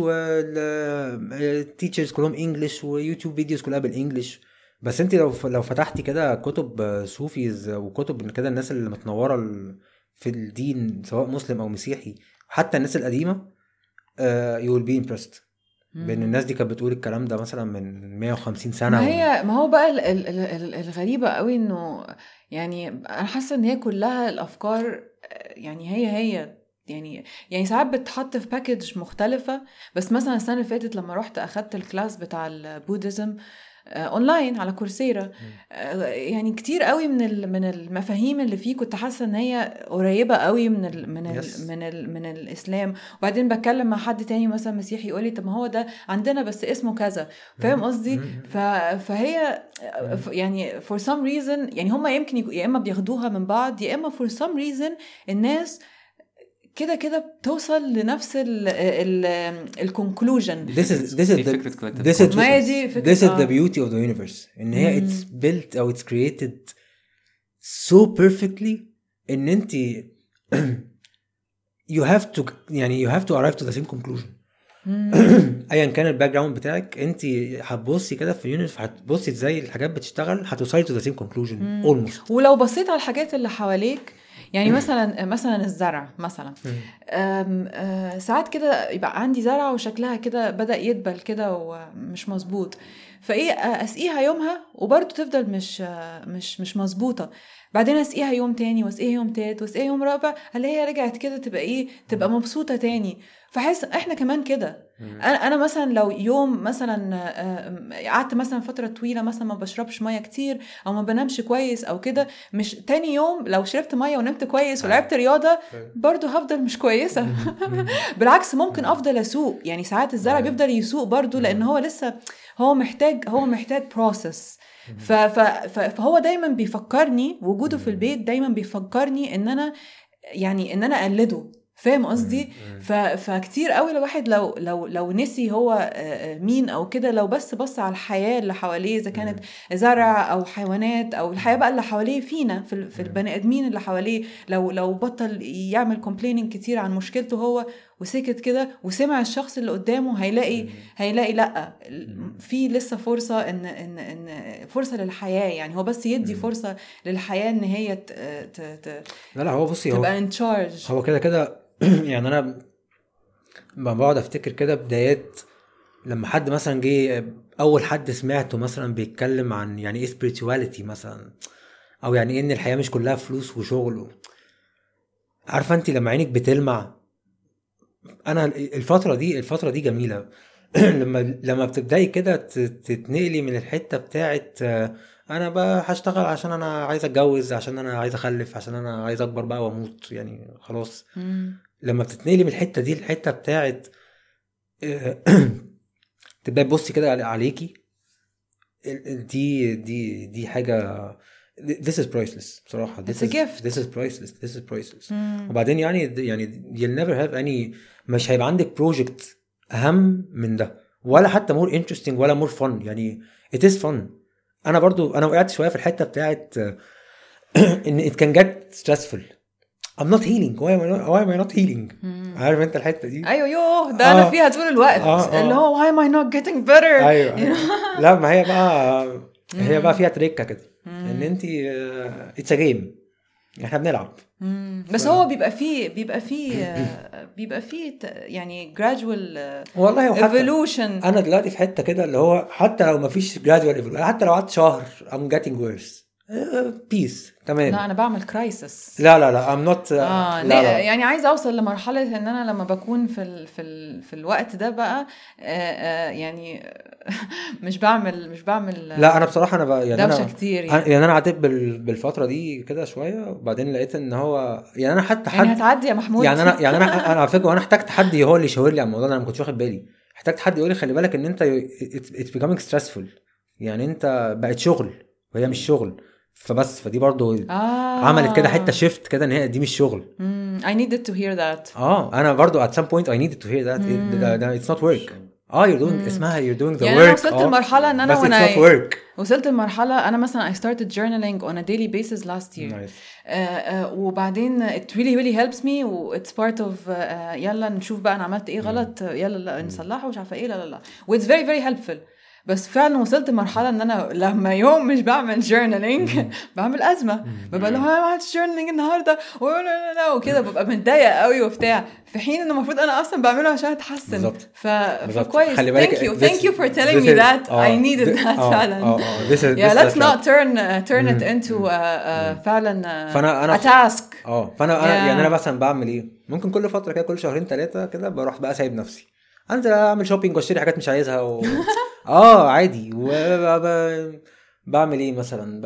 والتيتشرز كلهم إنجليش ويوتيوب فيديوز كلها بالإنجليش. بس أنت لو فتحتي كده كتب صوفيز وكتب كده الناس اللي متنورة في الدين سواء مسلم أو مسيحي حتى الناس القديمة you will be impressed بين الناس دي كانت بتقول الكلام ده مثلا من 150 سنة. ما هو بقى الغريبة قوي انه يعني انا حاسة ان هي كلها الافكار يعني هي يعني ساعات بتحط في باكيج مختلفة. بس مثلا السنة اللي فاتت لما رحت اخدت الكلاس بتاع البوديزم اونلاين على كورسيرا يعني كتير قوي من المفاهيم اللي فيه كنت حاسه ان هي قريبه قوي من الاسلام. وبعدين بتكلم مع حد تاني مثلا مسيحي يقول لي طب ما هو ده عندنا بس اسمه كذا. فاهم قصدي؟ فهي يعني for some reason يعني هم يمكن يا اما بياخدوها من بعض يا اما for some reason الناس كده بتوصل لنفس الكونكلوجن. This is the beauty of the universe. إن هي it's built أو it's created so perfectly إن أنت you have to arrive to the same conclusion. أيا كان الباك جراوند بتاعك أنت هتبصي كده في اليونيفرس هتبصي إزاي الحاجات بتشتغل هتوصلي to the same conclusion almost. ولو بصيت على الحاجات اللي حواليك يعني مثلا الزرع مثلا ساعات كده يبقى عندي زرع وشكلها كده بدأ يدبل كده ومش مظبوط فايه اسقيها يومها وبرضه تفضل مش مظبوطه. بعدين اسقيها يوم تاني واسقيها يوم تالت واسقيها يوم رابع اللي هي رجعت كده تبقى مبسوطه تاني. فحس احنا كمان كده. انا مثلا لو يوم مثلا قعدت مثلا فتره طويله مثلا ما بشربش ميه كتير او ما بنامش كويس او كده مش تاني يوم لو شربت ميه ونمت كويس ولعبت رياضه برضو هفضل مش كويسه. بالعكس ممكن افضل اسوق يعني ساعات الزرع بيفضل يسوق برضو لان هو لسه هو محتاج process. فهو دايما بيفكرني وجوده في البيت دايما بيفكرني ان انا يعني ان انا اقلده فاهم قصدي. فكتير قوي الواحد لو نسي هو مين او كده لو بص على الحياه اللي حواليه اذا كانت زرع او حيوانات او الحياه بقى اللي حواليه فينا في البني ادمين اللي حواليه لو بطل يعمل كومبليننج كتير عن مشكلته هو وسكت كده وسمع الشخص اللي قدامه هيلاقي لا في لسه فرصه ان فرصه للحياه يعني هو بس يدي فرصه للحياه ان هي لا هو بصي تبقى ان تشارج هو كده يعني انا ما بقعد افتكر كده بدايات لما حد مثلا جه اول حد سمعته مثلا بيتكلم عن يعني ايه spirituality مثلا او يعني ايه ان الحياه مش كلها فلوس وشغل عارفه انت لما عينك بتلمع. انا الفتره دي جميله لما بتبداي كده تتنقلي من الحته بتاعت انا بقى هشتغل عشان انا عايز اتجوز عشان انا عايز اخلف عشان انا عايز اكبر بقى واموت يعني خلاص. لما بتتنقلي من الحته دي الحته بتاعت تبقى بصي كده عليكي دي حاجه this is priceless بصراحه. It's a gift. This is priceless. وبعدين يعني you'll never have any مش هيبقى عندك project اهم من ده ولا حتى more interesting ولا more fun يعني it is fun. انا وقعت شويه في الحته بتاعت ان it can get stressful. I'm not healing. why am I not healing? عارف انت الحته دي؟ ايوه ده انا فيها طول الوقت اللي هو why am I not getting better. ايوه لا ما هي بقى فيها تريكه كده ان انت it's a game احنا بنلعب بس هو بيبقى فيه يعني gradual والله evolution. انا دلوقتي في حته كده اللي هو حتى لو ما فيش gradual evolution حتى لو قعدت شهر I'm getting worse بيس تمام. لا انا بعمل كرايسس. لا I'm not لا. يعني عايز اوصل لمرحله ان انا لما بكون في الوقت ده بقى يعني مش بعمل لا انا بصراحه انا بقى يعني دوشه كتير يعني انا عديت بالفتره دي كده شويه وبعدين لقيت ان هو يعني انا حتى يعني هتعدي يا محمود. يعني انا على فكره وانا احتجت حد هو اللي يشاور لي على الموضوع ده. انا ما كنتش واخد بالي. احتجت حد يقول لي خلي بالك ان انت it's becoming stressful يعني انت بقت شغل وهي مش شغل. فدي برضو عملت كده حته شيفت كده ان هي دي مش شغل. I needed to hear that. انا برضو at some point I needed to hear that it's not work. you're doing اسمها you're doing the يعني work. أنا وصلت المرحله ان انا وانا وصلت المرحله انا مثلا I started journaling on a daily basis last year. وبعدين it really helps me و it's part of يلا نشوف بقى انا عملت ايه غلط يلا نصلحه مش عارفه ايه لا و it's very very helpful. بس فعلا وصلت مرحله ان انا لما يوم مش بعمل journaling بعمل ازمه. ببقى لو انا ما عملتش journaling النهارده ولا وكده ببقى متضايقه قوي وبتاع في حين انه المفروض انا اصلا بعمله عشان اتحسن. فكويس thank you for telling me that. I needed that فعلا. let's not turn it into فعلا a task. فانا يعني انا مثلا بعمل ايه ممكن كل فتره كده كل شهرين 3 كده بروح بقى سايب نفسي انزل اعمل شوبينج واشتري حاجات مش عايزها عادي. بعمل ايه مثلا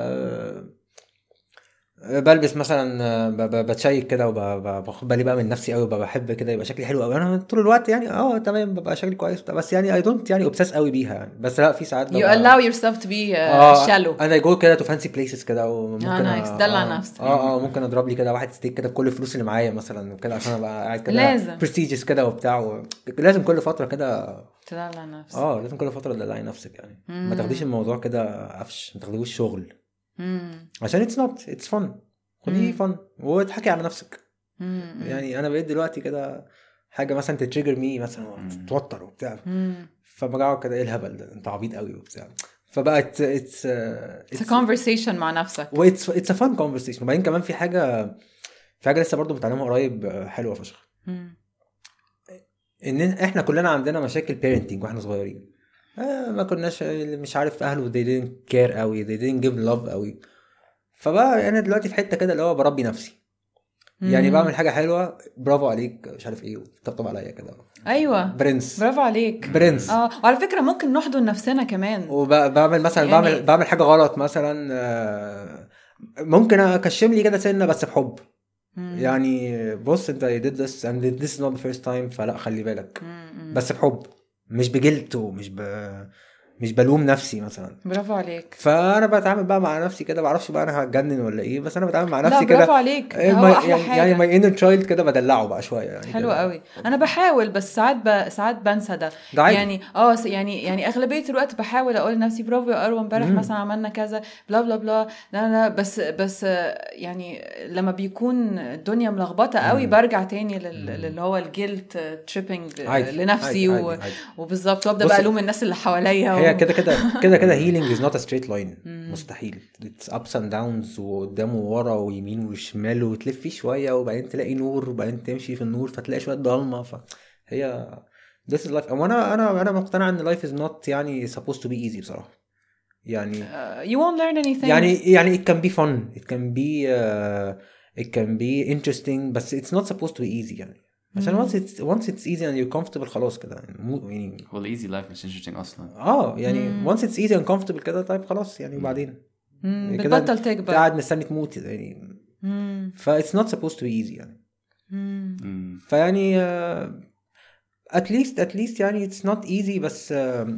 بلبس مثلا بتشيك كده وباخد بالي بقى من نفسي قوي وبحب كده يبقى شكلي حلو قوي انا طول الوقت يعني تمام ببقى شكلي كويس بس يعني I don't يعني obsess قوي بيها يعني. بس لا في ساعات you allow yourself to be shallow. انا جو كده to fancy places كده وممكن دلع نفسك ممكن اضرب لي كده واحد ستيك كده بكل الفلوس اللي معايا مثلا كده عشان ابقى قاعد كده لازم prestigious كده وبتاع لازم كل فتره كده تدلع نفسك. لازم كل فتره تدلعي نفسك يعني ما تاخديش الموضوع كده قفش ما تاخديهوش شغل عشان it's fun. خديه فن وتحكي على نفسك. يعني انا بقيت دلوقتي كده حاجه مثلا تتريجر مي مثلا تتوتر وبتاع فبقعد كده ايه الهبل ده انت عبيط قوي وبتاع فبقت it's a conversation مع نفسك it's a fun conversation. وبعدين كمان في حاجه لسه برضو متعلمها قريب حلوه فشخ ان احنا كلنا عندنا مشاكل parenting واحنا صغيرين ما كناش مش عارف اهله they didn't care قوي they didn't give love قوي. فبقى انا دلوقتي في حته كده اللي هو بربي نفسي يعني بعمل حاجه حلوه برافو عليك مش عارف ايه وتطبطب عليا كده ايوه برنس برافو عليك برنس. وعلى فكره ممكن نحضن نفسنا كمان. وبعمل مثلا يعني بعمل حاجه غلط مثلا ممكن اكشم لي كده سنه بس بحب يعني بص انت you did this and this is not the first time فلا خلي بالك بس بحب مش بجلد ومش مش بلوم نفسي مثلا. برافو عليك. فانا بتعامل بقى مع نفسي كده، بعرفش بقى انا هتجنن ولا ايه، بس انا بتعامل مع نفسي لا كده. برافو عليك، ده هو احلى يعني حاجه. يعني ماي انر تشايلد كده بدلعه بقى شويه يعني. حلو كده. قوي. انا بحاول بس ساعات بنسى ده عادي. يعني يعني اغلبيه الوقت بحاول اقول لنفسي برافو يا اروى امبارح مثلا عملنا كذا بلا بلا بلا، لا بس يعني لما بيكون الدنيا ملخبطه قوي برجع تاني اللي هو الجيلت تريبنج لنفسي. عادي. وبالظبط وابدا بقى الوم الناس اللي حواليا. هي كده هيلينج از نوت ا ستريت لاين. مستحيل. اتس ابس اند داونز، وقدام وورا ويمين وشمال، وتلف فيه شويه وبعدين تلاقي نور وبعدين تمشي في النور فتلاقي شويه ضلمه. فهي this is life. انا مقتنع ان life is not يعني supposed to be easy بصراحه. يعني you won't learn anything. يعني it can be fun, it can be interesting, بس it's not supposed to be easy يعني. عشان once it's easy and you're comfortable خلاص كده يعني هو easy life مش interesting اصلا. يعني once it's easy and comfortable كده طيب خلاص يعني. وبعدين بتبطل تكبر، قاعد مستني تموت يعني. ف it's not supposed to be easy يعني. فيعني at least يعني it's not easy. بس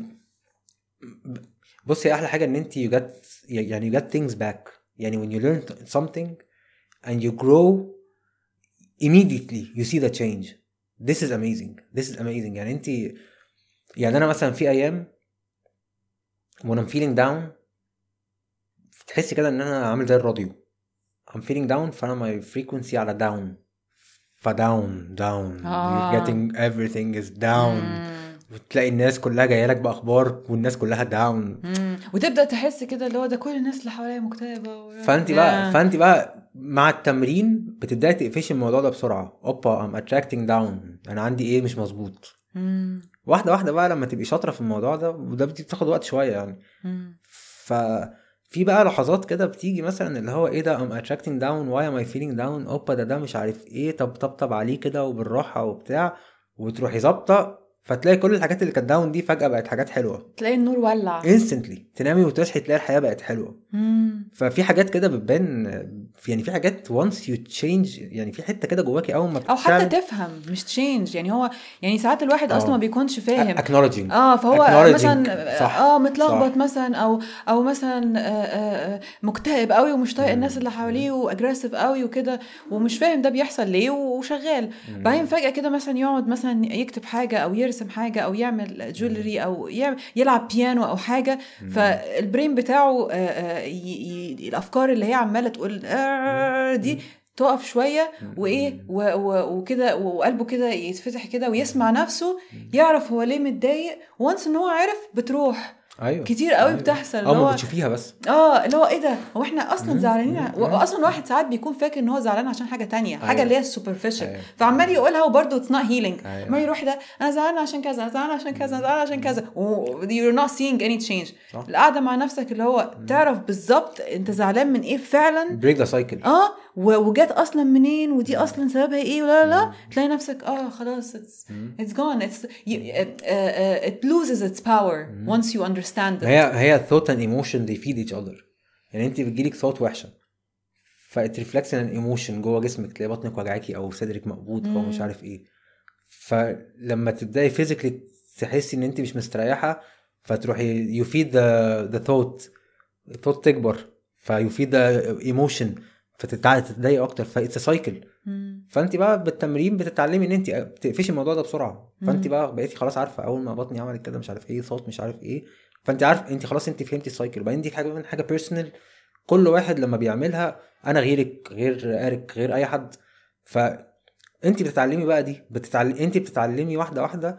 بص هي احلى حاجه ان انت you get things back يعني. when you learn something and you grow immediately you see the change. this is amazing يعني. انت يعني انا مثلا في ايام when I'm feeling down تحسي كده ان انا عامل زي الراديو. I'm feeling down فانا my frequency على down down you're getting everything is down. وتلاقي الناس كلها جايه لك باخبار والناس كلها داون. وتبدا تحس كده اللي هو ده كل الناس اللي حواليا مكتئبه. فانت بقى مع التمرين بتبداي تقفشي الموضوع ده بسرعه. اوبا I'm attracting down، انا عندي ايه مش مظبوط. واحده بقى لما تبقي شاطره في الموضوع ده، وده بتاخد وقت شويه يعني. ففي بقى لحظات كده بتيجي مثلا اللي هو ايه ده I'm attracting down why am I feeling down. اوبا ده مش عارف ايه. طب عليه كده وبالراحه وبتاع، وتروحي ظابطه فتلاقي كل الحاجات اللي كانت داون دي فجأة بقت حاجات حلوة. تلاقي النور ولع instantly. تنامي وتصحي تلاقي الحياة بقت حلوة. ففي حاجات كده بتبان يعني. في حاجات once you change يعني في حتة كده جواكي أول ما أو حتى تفهم مش change يعني. هو يعني ساعات الواحد أصلا ما بيكونش فاهم acknowledging. فهو acknowledging. مثلا متلخبط مثلا أو مثلا مكتئب قوي ومش طايق الناس اللي حواليه واجريسيف قوي وكده ومش فاهم ده بيحصل ليه وشغال. بعدين فجأة كده مثلا يقعد مثلا يكتب حاجة أو يرسم حاجة أو يعمل جولري أو يلعب بيانو أو حاجة. فالبرين بتاعه الأفكار اللي هي عمالة تقول دي تقف شوية وإيه وكده وقلبه كده يتفتح كده ويسمع نفسه يعرف هو ليه متضايق. وانس إن هو عارف بتروح. أيوة. كتير قوي بتحصل اللي هو بتشوفيها بس اللي هو ايه ده هو احنا اصلا زعلانين. واصلا واحد ساعات بيكون فاكر ان هو زعلان عشان حاجه تانية. حاجه اللي هي السوبرفيشال. فعمال يقولها وبرده اتس نوت هيلينج. ما يروح ده انا زعلان عشان كذا، انا زعلان عشان كذا، زعلان عشان كذا you're not seeing any change. القعده مع نفسك اللي هو تعرف بالظبط انت زعلان من ايه فعلا. break the cycle. وجات اصلا منين ودي اصلا سببها ايه ولا لا. تلاقي نفسك خلاص it's gone. it loses its power once you understand it. هي thought and emotion they feed each other. يعني انت بتجيلك thought وحشه فit reflects an emotion جوه جسمك. تلاقي بطنك وجعاكي او صدرك مقبوض او مش عارف ايه. فلما تبداي physically تحسي ان انت مش مستريحه فتروحي you feed the thought تكبر you feed the emotion فتتضايقي اكتر. فايتس سايكل. فانت بقى بالتمرين بتتعلمي ان انت تقفشي الموضوع ده بسرعه. فانت بقى بقيتي خلاص عارفه اول ما بطني عملت كده مش عارف ايه صوت مش عارف ايه. فانت عارف انت خلاص انت فهمتي السايكل. وبعدين دي حاجه بيرسونال. كل واحد لما بيعملها انا غيرك غير ارك غير اي حد. فانت بتتعلمي بقى دي انت بتتعلمي واحده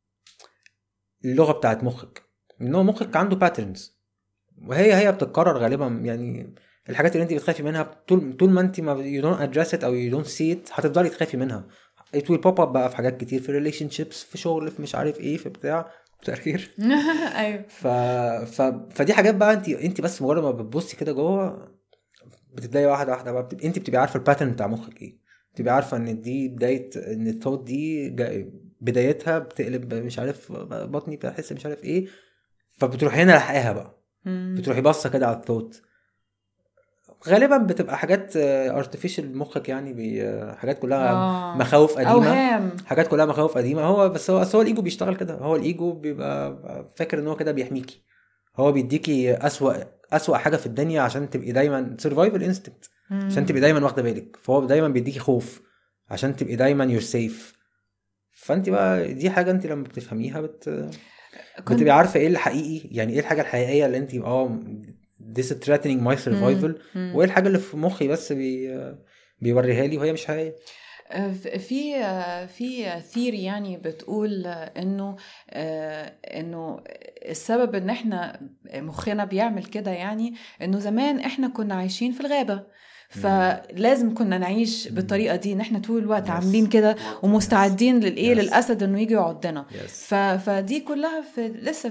اللغه بتاعت مخك. ان هو مخك عنده باترنز وهي بتتكرر غالبا يعني. الحاجات اللي انت بتخافي منها طول ما انت ما you don't address it او you don't see it هتفضلي تخافي منها. it will pop up بقى في حاجات كتير، في relationships، في شغل، في مش عارف ايه، في بتاع تأخير. ايوه. فدي حاجات بقى انت بس مجرد ما بتبصي كده جوه بتبداي واحده بقى انت بتبقي عارفه الباترن بتاع مخك ايه. بتبقي عارفه ان دي بدايه ان الثوت دي بدايتها بتقلب مش عارف بطني بحس مش عارف ايه. فبتروحي هنا لحقها بقى. بتروحي باصه كده على الثوت. غالبا بتبقى حاجات artificial مخك يعني حاجات كلها مخاوف قديمه. حاجات كلها مخاوف قديمه. هو الايجو بيشتغل كده. هو الايجو بيبقى فاكر ان هو كده بيحميكي. هو بيديكي اسوأ حاجه في الدنيا عشان تبقي دايما survival instinct، عشان تبقي دايما واخده بالك. فهو دايما بيديكي خوف عشان تبقي دايما you're safe. فانت بقى دي حاجه انت لما بتفهميها بتبقي عارفه ايه الحقيقي، يعني ايه الحاجه الحقيقيه اللي انت this is threatening my survival، وايه الحاجه اللي في مخي بس بيوريها لي وهي مش حقيقيه. في ثيري يعني بتقول انه السبب ان احنا مخنا بيعمل كده، يعني انه زمان احنا كنا عايشين في الغابة، فلازم كنا نعيش بالطريقه دي، ان احنا طول الوقت عاملين كده ومستعدين للاسد انه يجي يعضنا. فدي كلها لسه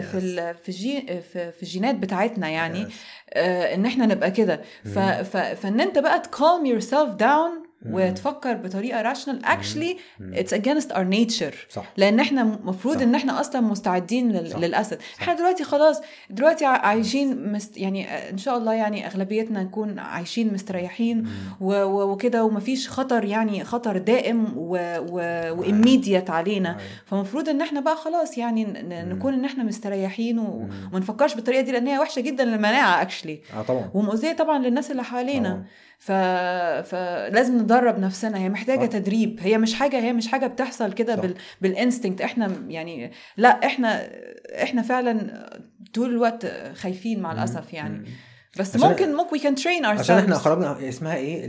في الجينات بتاعتنا، يعني ان احنا نبقى كده. فان انت بقى calm yourself down وتفكر بطريقه rational actually it's against our nature. صح. لان احنا مفروض ان احنا اصلا مستعدين للاسد. احنا دلوقتي خلاص عايشين يعني ان شاء الله يعني اغلبيتنا نكون عايشين مستريحين وكده، ومفيش خطر، يعني خطر دائم وimmediate علينا. فمفروض ان احنا بقى خلاص يعني نكون ان احنا مستريحين وما نفكرش بالطريقه دي، لان هي وحشه جدا للمناعه actually، طبعا، ومؤذيه طبعا للناس اللي حوالينا. فلازم ندرب نفسنا، هي محتاجه تدريب، هي مش حاجه بتحصل كده بالانستنكت. احنا يعني لا، احنا فعلا طول الوقت خايفين مع الاسف يعني. بس ممكن we can train ourselves. عشان احنا خرجنا، اسمها ايه،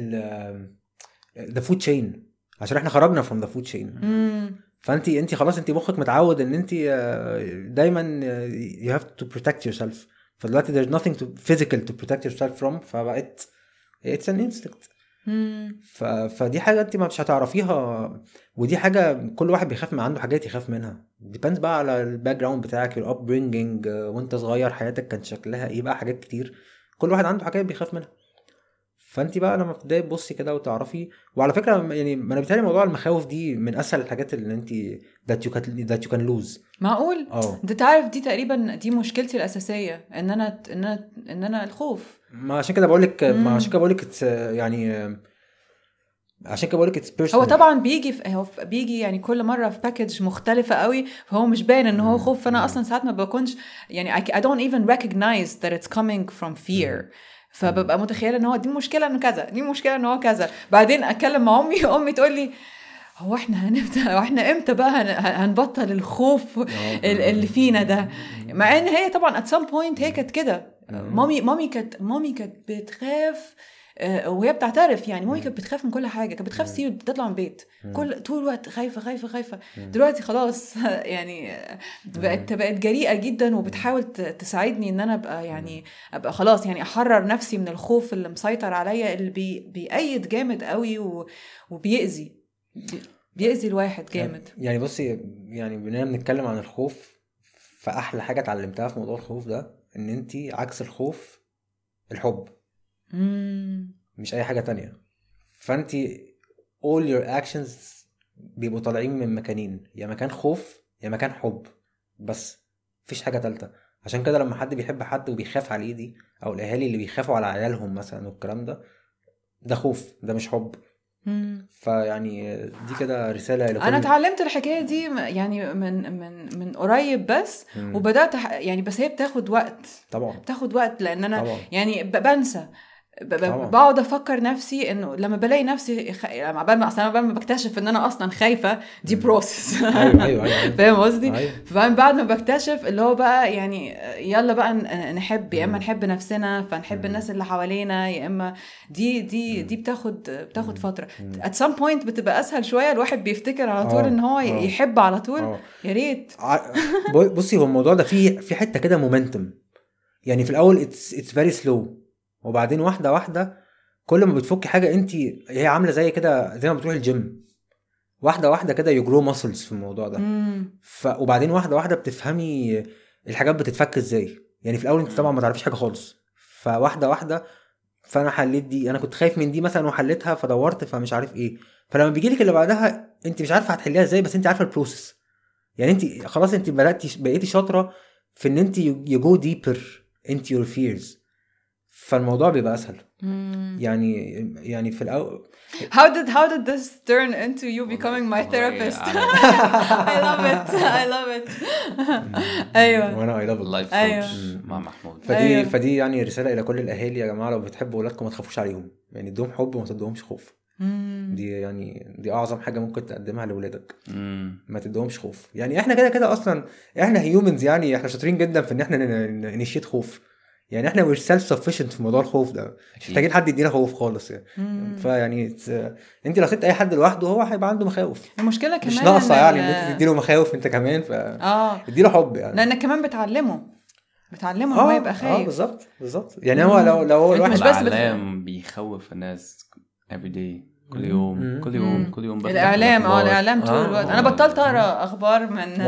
the food chain، عشان احنا خرجنا from the food chain. فانت خلاص انت مخك متعود ان انت دايما you have to protect yourself. فدلوقتي there's nothing physical to protect yourself from، فبقت it's an instinct. فدي حاجة انت ما مش هتعرفيها، ودي حاجة كل واحد بيخاف من عنده حاجات يخاف منها. depends بقى على الباك جراوند بتاعك، your upbringing، وانت صغير حياتك كانت شكلها ايه بقى، حاجات كتير كل واحد عنده حاجات بيخاف منها. فانت بقى لما تبداي تبصي كده وتعرفي. وعلى فكرة يعني انا بيتهيألي موضوع المخاوف دي من اسهل الحاجات اللي انت that you can lose. معقول؟ انت تعرف دي تقريبا دي مشكلتي الاساسيه، ان انا الخوف. ما عشان كده بقولك يعني عشان كده بقولك it's personal. هو طبعا بيجي يعني كل مره في باكج مختلفه قوي، فهو مش باين ان هو خوف. فانا اصلا ساعات ما بكونش يعني I don't even recognize that it's coming from fear. فببقى متخيله ان هو دي مشكله انه كذا، دي مشكله انه هو كذا. بعدين اتكلم مع امي تقول لي هو احنا امتى بقى هنبطل الخوف اللي فينا ده؟ مع ان هي طبعا at some point هي كانت كده. مامي كانت بتخاف، وهي بتعترف يعني مامي كانت بتخاف من كل حاجه، كانت بتخاف تطلع من البيت طول الوقت خايفه. دلوقتي خلاص يعني بقت جريئه جدا، وبتحاول تساعدني ان انا ابقى خلاص يعني احرر نفسي من الخوف اللي مسيطر عليا، اللي بيأيد جامد قوي وبيأذي الواحد جامد. يعني بصي، يعني بننا بنتكلم عن الخوف، فأحلى حاجة اتعلمتها في موضوع الخوف ده ان انتي عكس الخوف الحب. مش اي حاجة تانية. فانتي all your actions بيبقوا طالعين من مكانين، يا مكان خوف يا مكان حب، بس مفيش حاجة تالتة. عشان كده لما حد بيحب حد وبيخاف عليه دي، او الاهالي اللي بيخافوا على عيالهم مثلا والكلام ده خوف، ده مش حب. فيعني دي كده رسالة لكل. انا اتعلمت الحكاية دي يعني من قريب بس، وبدأت يعني، بس هي بتاخد وقت طبعا، بتاخد وقت، لان انا طبعا. يعني بنسى، بقعد افكر نفسي انه لما بلاقي نفسي لما بكتشف ان انا اصلا خايفه، دي بروسس. ايوه فاهم قصدي؟ بعد ما بكتشف اللي هو بقى يعني يلا بقى نحب، يا اما نحب نفسنا فنحب الناس اللي حوالينا، يا اما دي بتاخد فتره. at some point بتبقى اسهل شويه، الواحد بيفتكر على طول ان هو يحب على طول. يا ريت. بصي، هو الموضوع ده في حته كده مومنتم، يعني في الاول it's very slow، وبعدين واحدة كل ما بتفكي حاجة هي عاملة زي كده، زي ما بتروح الجيم، واحدة كده يجرو ماسلز في الموضوع ده. وبعدين واحدة بتفهمي الحاجات بتتفك ازاي. يعني في الاول انت طبعا ما تعرفيش حاجة خالص، فواحدة فانا حليت دي، انا كنت خايف من دي مثلا وحليتها، فدورت فمش عارف ايه. فلما بيجيلك اللي بعدها انت مش عارفة هتحليها ازاي، بس انت عارفة البروسيس. يعني انت خلاص انت بقيتي شاطرة في ان انت you go deeper into your fears، فالموضوع بيبقى اسهل. يعني في الاول how did this turn into you becoming my therapist? I love it. ايوه وانا I love it. life coach. مع محمود. فدي يعني رساله الى كل الاهالي يا جماعه، لو بتحبوا اولادكم ما تخافوش عليهم، يعني ادوهم حب وما تدوهمش خوف. دي اعظم حاجه ممكن تقدمها لاولادك، ما تدوهمش خوف. يعني احنا كده اصلا احنا هيومنز، يعني احنا شاطرين جدا في ان احنا نشيت خوف، يعني احنا مش سيلف سفيشنت في موضوع الخوف ده، مش محتاجين حد يدينا خوف خالص يعني. فيعني انت لو سبت اي حد لوحده هو هيبقى عنده مخاوف. المشكله كمان مش ناقصه يعني ان انت تديله مخاوف انت كمان، اديله حب يعني، لانك كمان بتعلمه ان هو يبقى خايف. بالظبط يعني هو لو هو الواحد مش بس بيخوف الناس every day، كل يوم الاعلام طول الوقت. انا بطلت اقرا اخبار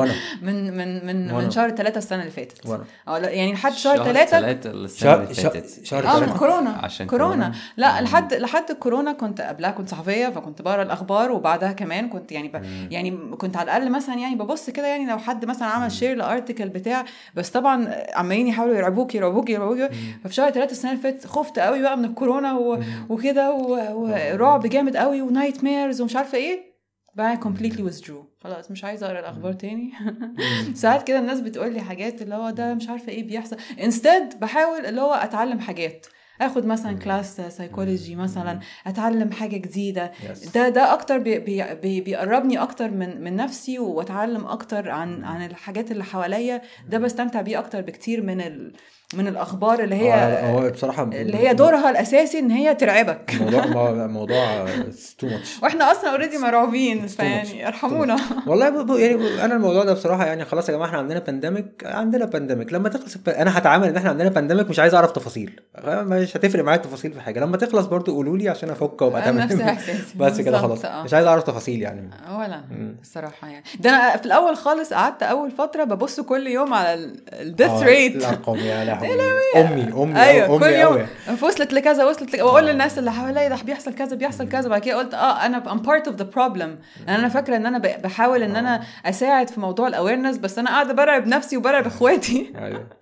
من شهر 3 السنه اللي فاتت، يعني لحد شهر 3 السنه اللي فاتت من كورونا، عشان كورونا. لا لحد الكورونا كنت قبلها كنت صحفيه، فكنت بقرا الاخبار، وبعدها كمان كنت يعني كنت على الاقل مثلا يعني ببص كده، يعني لو حد مثلا عمل شير لارتيكل بتاع، بس طبعا عمالين يحاولوا يرعبوك. ففي شهر 3 السنه اللي فاتت خفت قوي بقى من الكورونا وكده، ورعب جامد قوي ونايت ميرز ومش عارفه ايه. بقى completely withdrew، خلاص مش عايزه اقرا الاخبار تاني. ساعات كده الناس بتقول لي حاجات اللي هو ده مش عارفه ايه بيحصل، instead بحاول اللي هو اتعلم حاجات، اخد مثلا كلاس سايكولوجي مثلا، اتعلم حاجه جديده. ده اكتر بيقربني اكتر من نفسي، واتعلم اكتر عن الحاجات اللي حواليا. ده بستمتع بيه اكتر بكتير من الاخبار اللي هي بصراحه اللي هي دورها الاساسي ان هي ترعبك. موضوع too much، واحنا اصلا اوريدي مرعوبين، فيعني ارحمونا. والله يعني انا الموضوع ده بصراحه يعني خلاص يا جماعه، احنا عندنا بانديميك لما تخلص انا هتعامل ان احنا عندنا بانديميك، مش عايز اعرف تفاصيل، مش هتفرق معايا التفاصيل في حاجه. لما تخلص برضو قولوا لي عشان افك وابقى تمام. نفس احساسي بس كده خلاص، مش عايز اعرف تفاصيل يعني ولا الصراحه. يعني ده انا في الاول خالص قعدت اول فتره ببص كل يوم على الديث ريت، الارقام يا لهوي. امي ايوه كل يوم وصلت لكذا واقول للناس اللي حواليا ده بيحصل كذا. بعد كده قلت انا I'm part of the problem. انا فاكره ان انا بحاول ان انا اساعد في موضوع الاويرنس، بس انا قاعده برعب نفسي وبرعب اخواتي.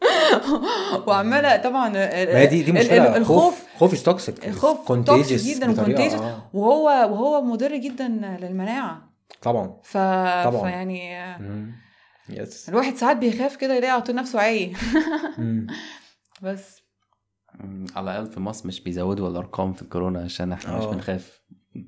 وعماله طبعا دي مشكله. الخوف توكسيك، الخوف توكسيك جدا وكونتيجيوس، وهو مضر جدا للمناعه طبعا. فيعني الواحد ساعات بيخاف كده يلاقي على طول نفسه عاي. بس على الأقل في مصر مش بيزودوا الأرقام في الكورونا عشان احنا مش بنخاف.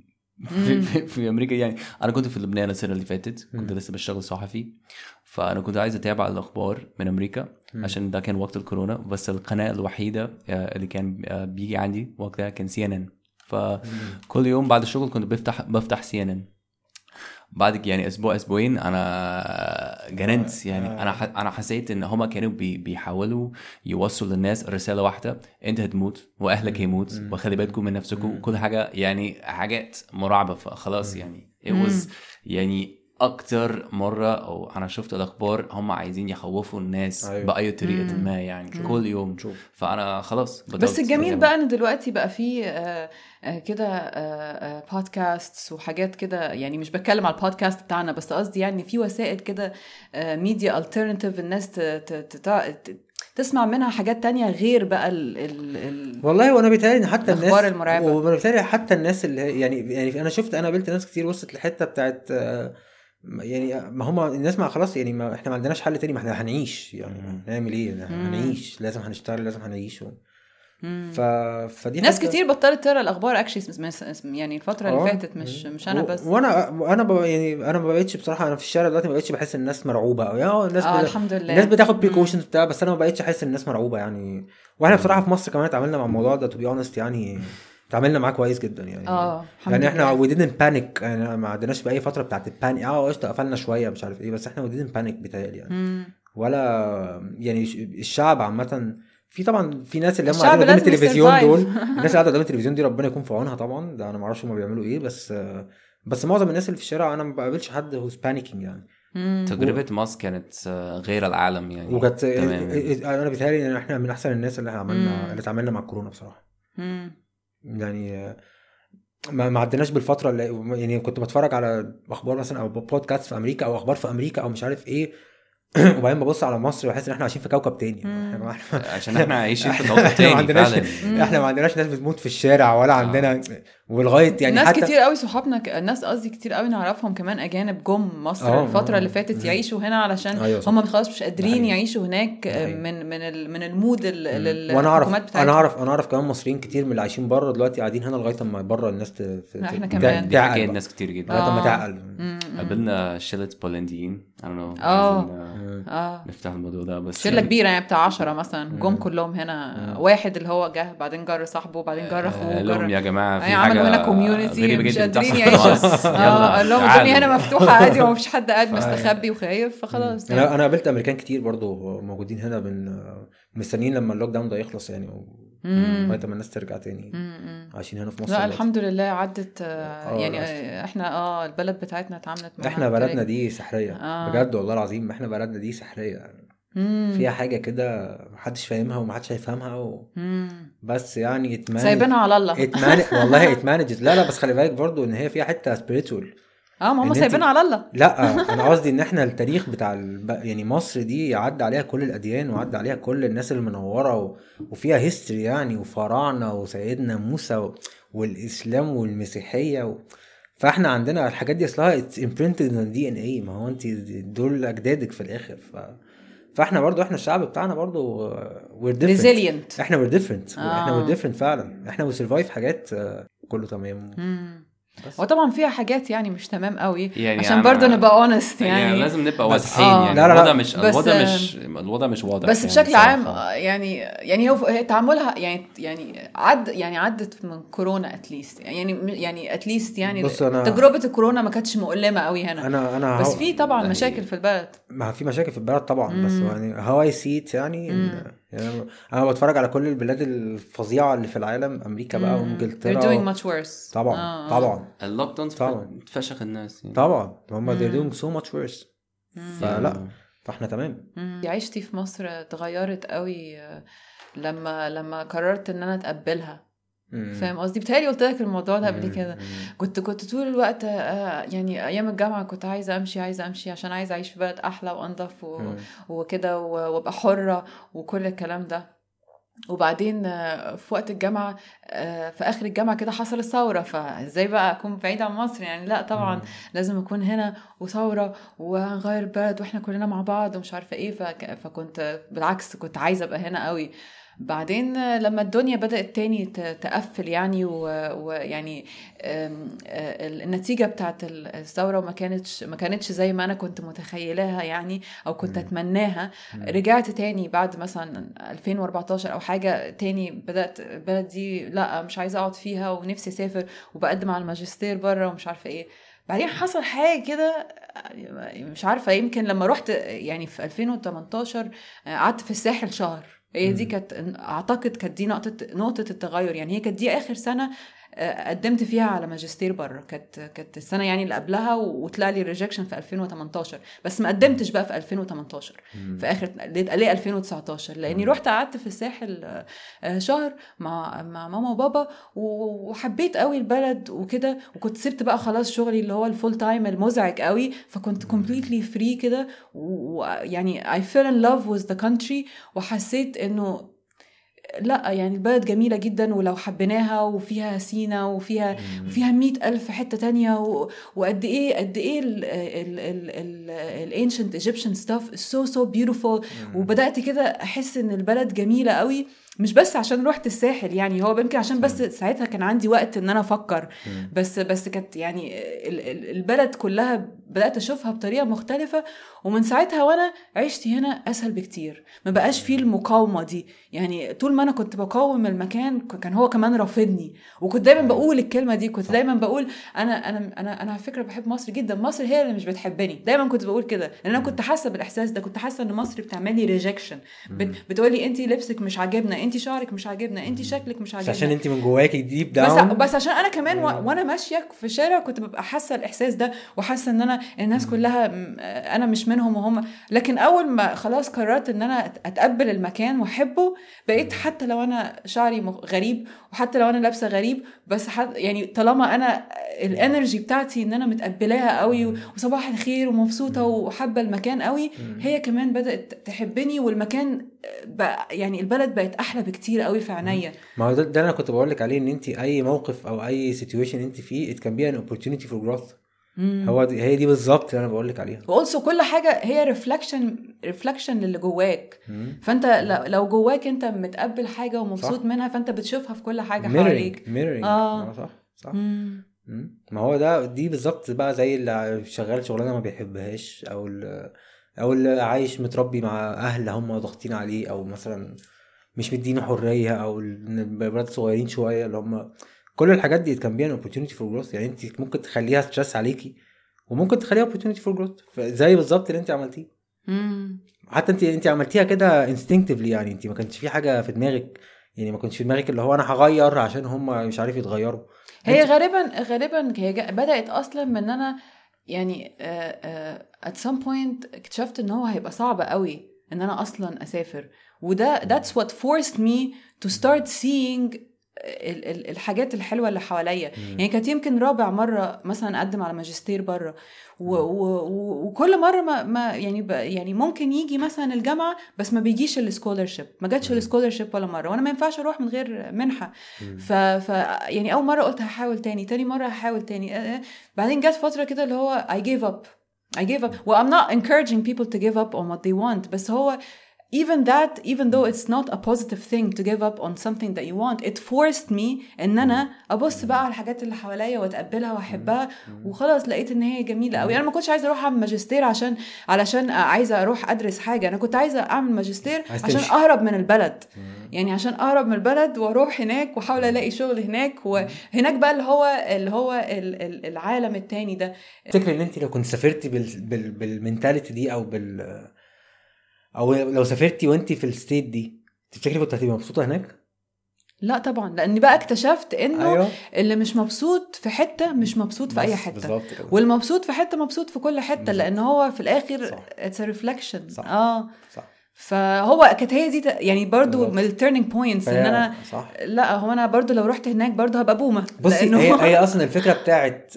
في أمريكا يعني أنا كنت في لبنان السنة اللي فاتت، كنت لسه بشتغل صحفي، فأنا كنت عايز أتابع الأخبار من أمريكا عشان ده كان وقت الكورونا. بس القناة الوحيدة اللي كان بيجي عندي وقتها كان CNN. فكل يوم بعد الشغل كنت بفتح CNN. بعد يعني اسبوعين انا جننت يعني. انا حسيت ان هما كانوا بيحاولوا يوصلوا للناس رساله واحده: انت هتموت واهلك هيموت وخلي بالكم من نفسكم وكل حاجه، يعني حاجات مرعبه. فخلاص يعني يعني اكتر مره او انا شفت الاخبار هم عايزين يخوفوا الناس باي طريقه ما يعني كل يوم. فانا خلاص بس الجميل بقى ان دلوقتي بقى في كده بودكاست وحاجات كده، يعني مش بتكلم على البودكاست بتاعنا بس، قصدي يعني في وسائل كده ميديا الترناتيف الناس تسمع منها حاجات تانية غير بقى والله. وانا بيتهيألي حتى الناس المرعبة، وانا بيتهيألي حتى الناس اللي يعني انا قابلت ناس كتير وصلت لحته بتاعت يعني ما هم الناس ما خلاص يعني ما احنا ما عندناش حل تاني، ما احنا هنعيش يعني نعمل ايه؟ هنعيش، لازم هنشتغل، لازم هنعيش. فدي ناس كتير بطلت تقرا الاخبار اكشلي يعني الفتره اللي فاتت، مش انا بس. وانا يعني انا ما بقيتش بصراحه، انا في الشارع دلوقتي ما بقيتش بحس الناس مرعوبه او يعني الناس الحمد لله الناس بتاخد بريكوشنز بتاع، بس انا ما بقيتش احس الناس مرعوبه يعني. واحنا بصراحه في مصر كمان اتعاملنا مع الموضوع ده تو بي اونست، يعني اتعاملنا معاه كويس جدا يعني. يعني احنا we didn't panic يعني، ما عندناش باي فتره بتاعت البانيك. قشطه قفلنا شويه مش عارف ايه، بس احنا we didn't panic بتاعي يعني. ولا يعني الشعب عامه في طبعا في ناس اللي هم قاعدين قدام التلفزيون دول، الناس اللي قاعده قدام التلفزيون دي ربنا يكون في عونها طبعا. ده انا ما اعرفش هم بيعملوا ايه، بس معظم الناس اللي في الشارع انا ما بقابلش حد هوز بانيكينج يعني. تجربه مصر كانت غير العالم يعني، وكانت انا بيتهيألي ان احنا من احسن الناس اللي عملنا اللي اتعاملنا مع الكورونا بصراحه. يعني ما عدناش بالفتره اللي يعني كنت بتفرج على اخبار مثلا او بودكاست في امريكا او اخبار في امريكا او مش عارف ايه، وبعدين ببص على مصر وحاسس ان احنا عايشين في كوكب تاني. عشان احنا عايشين في كوكب تاني فعلا. احنا ما عندناش ناس بتموت في الشارع ولا عندنا ولغايه يعني ناس حتى كتير قوي صحابنا الناس قصدي كتير قوي نعرفهم كمان اجانب جم مصر الفتره اللي فاتت يعيشوا هنا علشان هم خلاص مش قادرين يعيشوا هناك من المود الحكومات بتاعتهم. انا اعرف كمان مصريين كتير من اللي عايشين بره دلوقتي قاعدين هنا لغايه اما بره الناس احنا كمان تعقل الناس كتير جدا لغايه اما تعقل. قابلنا شلة بولنديين نفتح الموضوع ده بس شلة كبيرة يعني بتاع 10 مثلا جم كلهم هنا. واحد اللي هو جه بعدين جر صاحبه وبعدين جر اخوه لهم يا جماعة في عملوا هنا كوميونيتي مش قادرين يعيشوا. قال لهم الدنيا هنا مفتوحة عادي ومفيش حد قاعد مستخبي وخايف فخلاص. انا قابلت امريكان كتير برضو موجودين هنا مستنيين لما اللوك داون ده يخلص يعني لغايه ما الناس ترجع تاني عايشين هنا في مصر. لا الحمد لله عدت يعني احنا البلد بتاعتنا اتعاملت معاها. احنا بلدنا دي سحريه بجد والله العظيم. احنا بلدنا دي سحريه فيها حاجه كده محدش فاهمها ومحدش هيفهمها بس يعني سايبينها على الله والله اتمانجت. لا بس خلي بالك برضو ان هي فيها حته سبيريتوال. ما هم سايبينها على الله. لا انا قصدي ان احنا التاريخ بتاع يعني مصر دي عدى عليها كل الاديان وعدى عليها كل الناس المنوره وفيها هيستوري يعني وفراعنه وسيدنا موسى والاسلام والمسيحيه فاحنا عندنا الحاجات دي اصلها اتس امبرنتد ان DNA. ما هو انت دول اجدادك في الاخر فاحنا برضو احنا الشعب بتاعنا برضو we're different. resilient. احنا we're different. احنا we're different فعلا. احنا we survive حاجات كله تمام. وطبعا فيها حاجات يعني مش تمام قوي يعني عشان برضو نبقى honest يعني لازم نبقى واضحين يعني الوضع مش واضح بس يعني بشكل عام يعني هو تعاملها يعني عدت من كورونا اتليست يعني اتليست يعني تجربة الكورونا ما كانتش مؤلمة قوي هنا. أنا بس في طبعا مشاكل في البلد. ما في مشاكل في البلد طبعا بس يعني هاو اي سيت يعني انا بتفرج على كل البلاد الفظيعه اللي في العالم امريكا بقى وانجلترا they're doing much worse. طبعا اللوك داون تفشخ الناس يعني. طبعا هم they're doing so much worse. فلا فاحنا تمام. عيشتي في مصر اتغيرت قوي لما قررت ان انا اتقبلها. فاهم قصدي؟ بتهيألي قلت لك الموضوع ده قبل كده. كنت طول الوقت يعني ايام الجامعه كنت عايزه امشي عشان عايزه اعيش في بلد احلى وانضف وكده وابقى حره وكل الكلام ده. وبعدين في وقت الجامعه في اخر الجامعه كده حصل الثوره. فازاي بقى اكون بعيده عن مصر يعني؟ لا طبعا لازم اكون هنا وثوره وهنغير البلد واحنا كلنا مع بعض ومش عارفه ايه. فكنت بالعكس كنت عايزه ابقى هنا قوي. بعدين لما الدنيا بدأت تاني تقفل يعني ويعني النتيجة بتاعت الثورة ما كانتش زي ما أنا كنت متخيلها يعني أو كنت أتمناها. رجعت تاني بعد مثلا 2014 أو حاجة تاني بدأت البلد دي لا مش عايزة أقعد فيها ونفسي أسافر وبقدم على الماجستير برا ومش عارفة إيه. بعدين حصل حاجة كده مش عارفة يمكن لما رحت يعني في 2018 قعدت في الساحل شهر. هي دي كانت اعتقد كانت دي نقطه التغير يعني. هي كانت دي اخر سنه قدمت فيها على ماجستير بره. كانت السنه يعني اللي قبلها وطلع لي ريجكشن في 2018 بس ما قدمتش بقى في 2018 في اخر ليه 2019 لاني رحت قعدت في الساحل شهر مع ماما وبابا وحبيت قوي البلد وكده. وكنت سبت بقى خلاص شغلي اللي هو الفول تايم المزعج قوي. فكنت completely free كده ويعني I fell in love with the country وحسيت انه لا يعني البلد جميلة جدا ولو حبيناها وفيها سينا وفيها 100,000 حتة تانية وقد ايه ال ancient Egyptian stuff is so beautiful. وبدأت كده احس ان البلد جميلة قوي مش بس عشان روحت الساحل يعني هو يمكن عشان بس ساعتها كان عندي وقت ان انا افكر بس كانت يعني البلد كلها بدأت اشوفها بطريقة مختلفة. ومن ساعتها وانا عشت هنا اسهل بكتير. ما بقاش فيه المقاومة دي يعني. طول ما انا كنت بقاوم المكان كان هو كمان رافضني. وكنت دايما بقول الكلمة دي. كنت دايما بقول انا على فكرة بحب مصر جدا. مصر هي اللي مش بتحبني. دايما كنت بقول كده لان انا كنت حاسة بالاحساس ده. كنت حاسة ان مصر بتعمل لي ريجكشن. بتقولي انتي لبسك مش عاجبنا انت شعرك مش عاجبنا، انت شكلك مش عاجبنا، عشان انت من جواكي ديب داون. بس عشان انا كمان وانا ماشيه في الشارع كنت ببقى حاسه الاحساس ده، وحاسه ان انا الناس كلها انا مش منهم وهم. لكن اول ما خلاص قررت ان انا اتقبل المكان واحبه، بقيت حتى لو انا شعري غريب، وحتى لو انا لابسه غريب، بس يعني طالما انا الانرجي بتاعتي ان انا متقبلاها قوي وصباح الخير ومبسوطه وحابه المكان قوي، هي كمان بدات تحبني، والمكان بقى يعني البلد بقت احلى بكتير قوي في عينيا. ما هو ده انا كنت بقول لك عليه، ان انت اي موقف او اي سيتويشن انت فيه it can be an opportunity for growth. هي دي بالظبط اللي انا بقول لك عليها. وألسو كل حاجه هي ريفلكشن للي جواك. فانت لو جواك انت متقبل حاجه ومبسوط صح. منها، فانت بتشوفها في كل حاجه حواليك. صح. ما هو دي بالظبط بقى زي اللي شغال شغلانه ما بيحبهاش، او اللي عايش متربي مع اهل هم ضاغطين عليه، او مثلا مش مدينه حريه، او البلاد صغيرين شويه اللي هم كل الحاجات دي كان بيها opportunity for growth. يعني انت ممكن تخليها ستريس عليكي، وممكن تخليها opportunity for growth، زي بالظبط اللي انت عملتيه. حتى انت عملتيها كده instinctively، يعني انت ما كانش في حاجه في دماغك، يعني ما كنتش في دماغك اللي هو انا هغير عشان هم مش عارف يتغيروا. هي غالبا هي بدأت اصلا من انا يعني at some point اكتشفت ان هو هيبقى صعب قوي ان انا اصلا اسافر، وده that's what forced me to start seeing الحاجات الحلوه اللي حواليا. يعني كانت يمكن رابع مره مثلا اقدم على ماجستير بره، وكل مره ما يعني ممكن يجي مثلا الجامعه بس ما بيجيش السكولرشيب، ما جاتش السكولرشيب ولا مره، وانا ما ينفعش اروح من غير منحه. ف يعني اول مره قلت هحاول تاني مره هحاول تاني، بعدين جت فتره كده اللي هو I gave up well I'm not encouraging people to give up on what they want، بس هو even though it's not a positive thing to give up on something that you want, it forced me ان انا ابص بقى على الحاجات اللي حواليا واتقبلها واحبها، وخلاص لقيت ان هي جميله قوي. انا ما كنتش عايزه اروح اعمل ماجستير علشان عايزه اروح ادرس حاجه، انا كنت عايزه اعمل ماجستير عشان اهرب من البلد، يعني عشان اهرب من البلد واروح هناك واحاول الاقي شغل هناك، وهناك بقى اللي هو العالم التاني ده. تفتكري ان انت لو كنت سافرتي بالمنتاليتي دي، او لو سافرتي وانتي في الستيت دي، تفتكري كنت هتبقي مبسوطه هناك؟ لا طبعا، لاني بقى اكتشفت انه اللي مش مبسوط في حته مش مبسوط في اي حته، والمبسوط في حته مبسوط في كل حته، لان هو في الاخر it's a reflection. صح. فهو كانت هي دي يعني برضو من التيرنينج بوينتس ان انا لا هو انا برضو لو رحت هناك برضو هبقى بومه. بصي هي اصلا الفكره بتاعت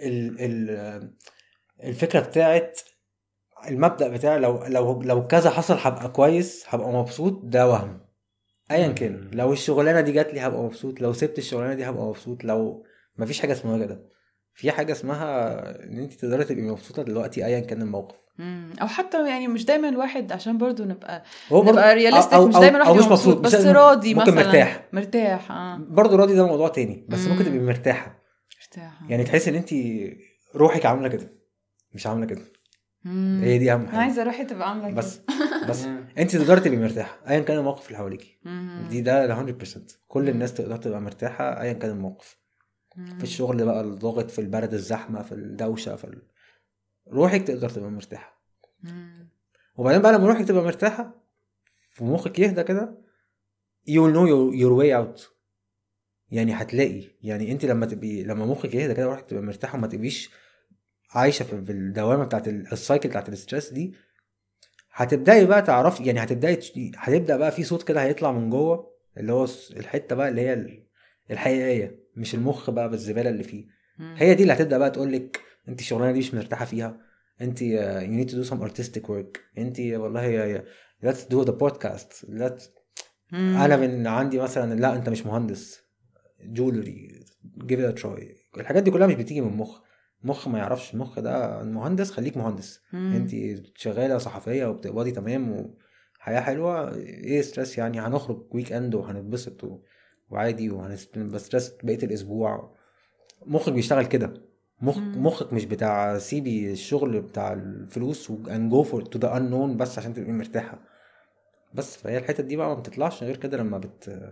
الفكره بتاعت المبدأ بتاعي لو كذا حصل هبقى كويس، هبقى مبسوط، ده وهم ايا كان. لو الشغلانه دي جات لي هبقى مبسوط، لو سبت الشغلانه دي هبقى مبسوط. لو مفيش حاجه اسمها كده، في حاجه اسمها ان انت تقدري تبقي مبسوطه دلوقتي ايا كان الموقف. او حتى يعني مش دايما الواحد عشان برضو نبقى رياليستيك، مش دايما الواحد مش مبسوط بس راضي، ممكن مثلا مرتاح برضو راضي، ده موضوع تاني، بس ممكن تبقي مرتاحه يعني تحس ان انت روحك عامله كده مش عامله كده. هي دي اهم حاجه، عايزه روحي تبقى عامله كده بس انت تقدري تبقي مرتاحه ايا كان الموقف اللي حواليكي. ده 100% كل الناس تقدر تبقى مرتاحه ايا كان الموقف. في الشغل بقى الضغط، في البرد الزحمه، في الدوشه، روحك تقدر تبقى مرتاحه. وبعدين بقى لما روحك تبقى مرتاحه ومخك يهدى كده you'll know your way out. يعني هتلاقي، يعني انت لما مخك يهدى كده وروحك تبقى مرتاحه وما تبقيش عايشه في الدوامه بتاعت السايكل بتاعت الاسترس دي، هتبداي بقى تعرفي، يعني هتبدا بقى في صوت كده هيطلع من جوه، اللي هو الحته بقى اللي هي الحقيقيه، مش المخ بقى بالزباله اللي فيه. هي دي اللي هتبدا بقى تقولك انت الشغلانه دي مش مرتاحه فيها، انت you need to do some artistic work، انت والله let's do the podcast، انا من عندي مثلا لا انت مش مهندس جولري give it a try. الحاجات دي كلها مش بتيجي من المخ ما يعرفش. المخ ده المهندس، خليك مهندس. انت شغاله صحفيه وبتقبضي تمام وحياه حلوه، ايه ستريس يعني؟ هنخرج ويك اند وهنتبسط وعادي وهنستريس بقيه الاسبوع. مخك بيشتغل كده. مخك مش بتاع سيبي الشغل بتاع الفلوس and go for to the unknown بس عشان تبقي مرتاحه بس. فهي الحته دي بقى ما بتطلعش غير كده لما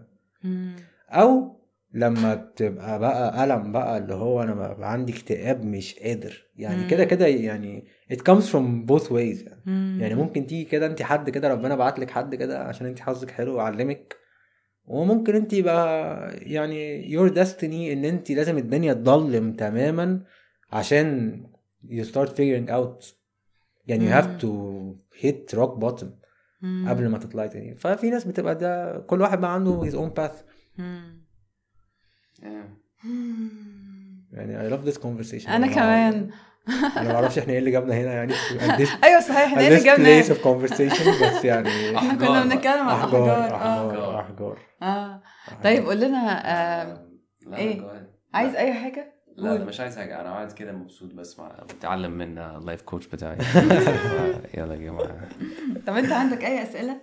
او لما بتبقى بقى ألم بقى، اللي هو انا بقى عندي اكتئاب مش قادر يعني كده يعني it comes from both ways يعني ممكن تيجي كده انت حد كده ربنا بعتلك حد كده عشان انت حظك حلو وعلمك وممكن انت يبقى يعني your destiny ان انت لازم الدنيا تضلم تماما عشان you start figuring out يعني you have to hit rock bottom قبل ما تطلعي تاني. ففي ناس بتبقى ده كل واحد بقى عنده his own path. يعني I love this conversation. انا كمان انا ما اعرفش احنا ايه اللي جابنا هنا يعني ايوه صحيح احنا ايه اللي جابنا place of conversation بس يعني احنا كنا بنتكلم عن احجار. طيب قول لنا ايه عايز اي حاجه؟ لا مش عايز حاجه، انا قاعد كده مبسوط بس بتعلم من اللايف كوتش بتاعي. يلا يا جماعه. طب انت عندك اي اسئله؟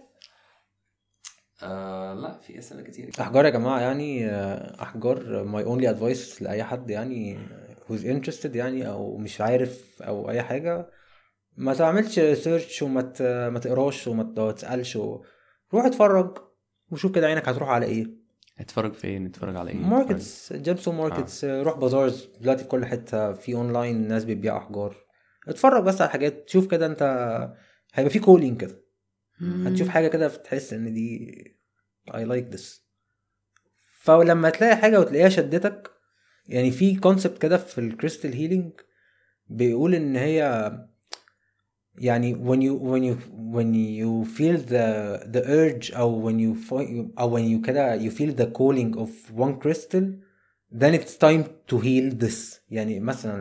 لا في اسئله كتير. احجار يا جماعه يعني احجار my only advice لاي حد يعني who's interested يعني او مش عارف او اي حاجه، ما تعملش سيرش وما تقراش وما تسالش روح اتفرج وشوف كده عينك هتروح على ايه. اتفرج فين؟ اتفرج على ايه؟ ماركتس، جيمسون ماركتس. روح بازارز دلوقتي في كل حته، في اونلاين ناس بتبيع احجار. اتفرج بس على حاجات، شوف كده انت هيبقى في كولينج كده، هتشوف حاجه كده تحس ان دي I like this. فلما تلاقي حاجه وتلاقيها شدتك، يعني في كونسبت كده في الكريستال هيلينج بيقول ان هي يعني when you feel the urge او when you كده you feel the calling of one crystal, then it's time to heal this. يعني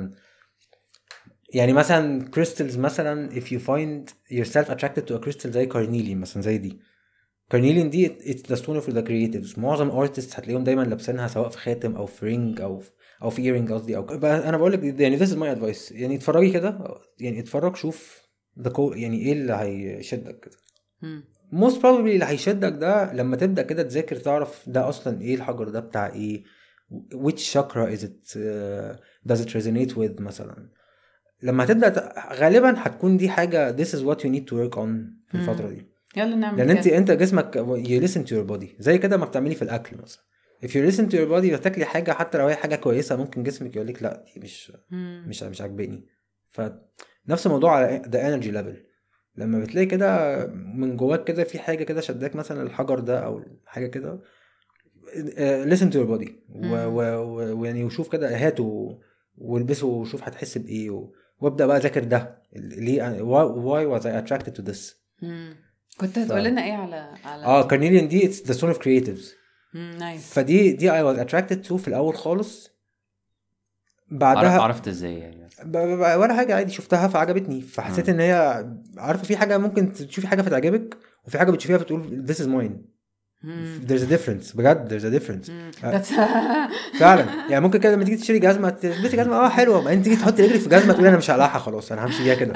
مثلا crystals مثلا if you find yourself attracted to a crystal زي carnelian مثلا، زي دي carnelian دي it's the stone for the creatives. معظم artists هتلاقيهم دايما لابسينها سواء في خاتم او في رينج او في earring قصدي. او انا بقول لك يعني this is my advice، يعني اتفرجي كده، يعني اتفرج شوف يعني ايه اللي هيشدك كده. most probably اللي هيشدك ده لما تبدا كده تذاكر تعرف ده اصلا ايه الحجر ده بتاع ايه، which chakra is it does it resonate with مثلا. لما تبدا غالبا هتكون دي حاجه this is what you need to work on في الفتره دي. يلا نعمل لان انت جسمك you listen to your body زي كده ما بتعملي في الاكل مثلا. if you listen to your body وتاكلي حاجه حتى لو هي حاجه كويسه ممكن جسمك يقول لك لا دي مش عاجباني. فنفس الموضوع على the energy level. لما بتلاقي كده من جواك كده في حاجه كده شداك مثلا الحجر ده او حاجه كده listen to your body ويعني وشوف كده هاته والبسه وشوف هتحس بايه وابدا بقى ذاكر ده ليه why was I attracted to this. كنت هتقول لنا ايه على carnelian دي it's the stone of creatives. نايس. فدي I was attracted to في الاول خالص. بعدها عرفت ازاي يعني؟ ولا حاجه عادي شفتها فعجبتني فحسيت ان هي عارفه في حاجه ممكن تشوفي حاجه فتعجبك وفي حاجه بتشوفيها فتقول this is mine. there's a difference بجد there's a difference فعلا. يعني ممكن كده لما تيجي تشتري جزمه تلبسي جزمه حلوه بعدين تيجي تحطي رجلك في جزمه تقولي انا مش هقلعها خلاص انا همشي بيها كده.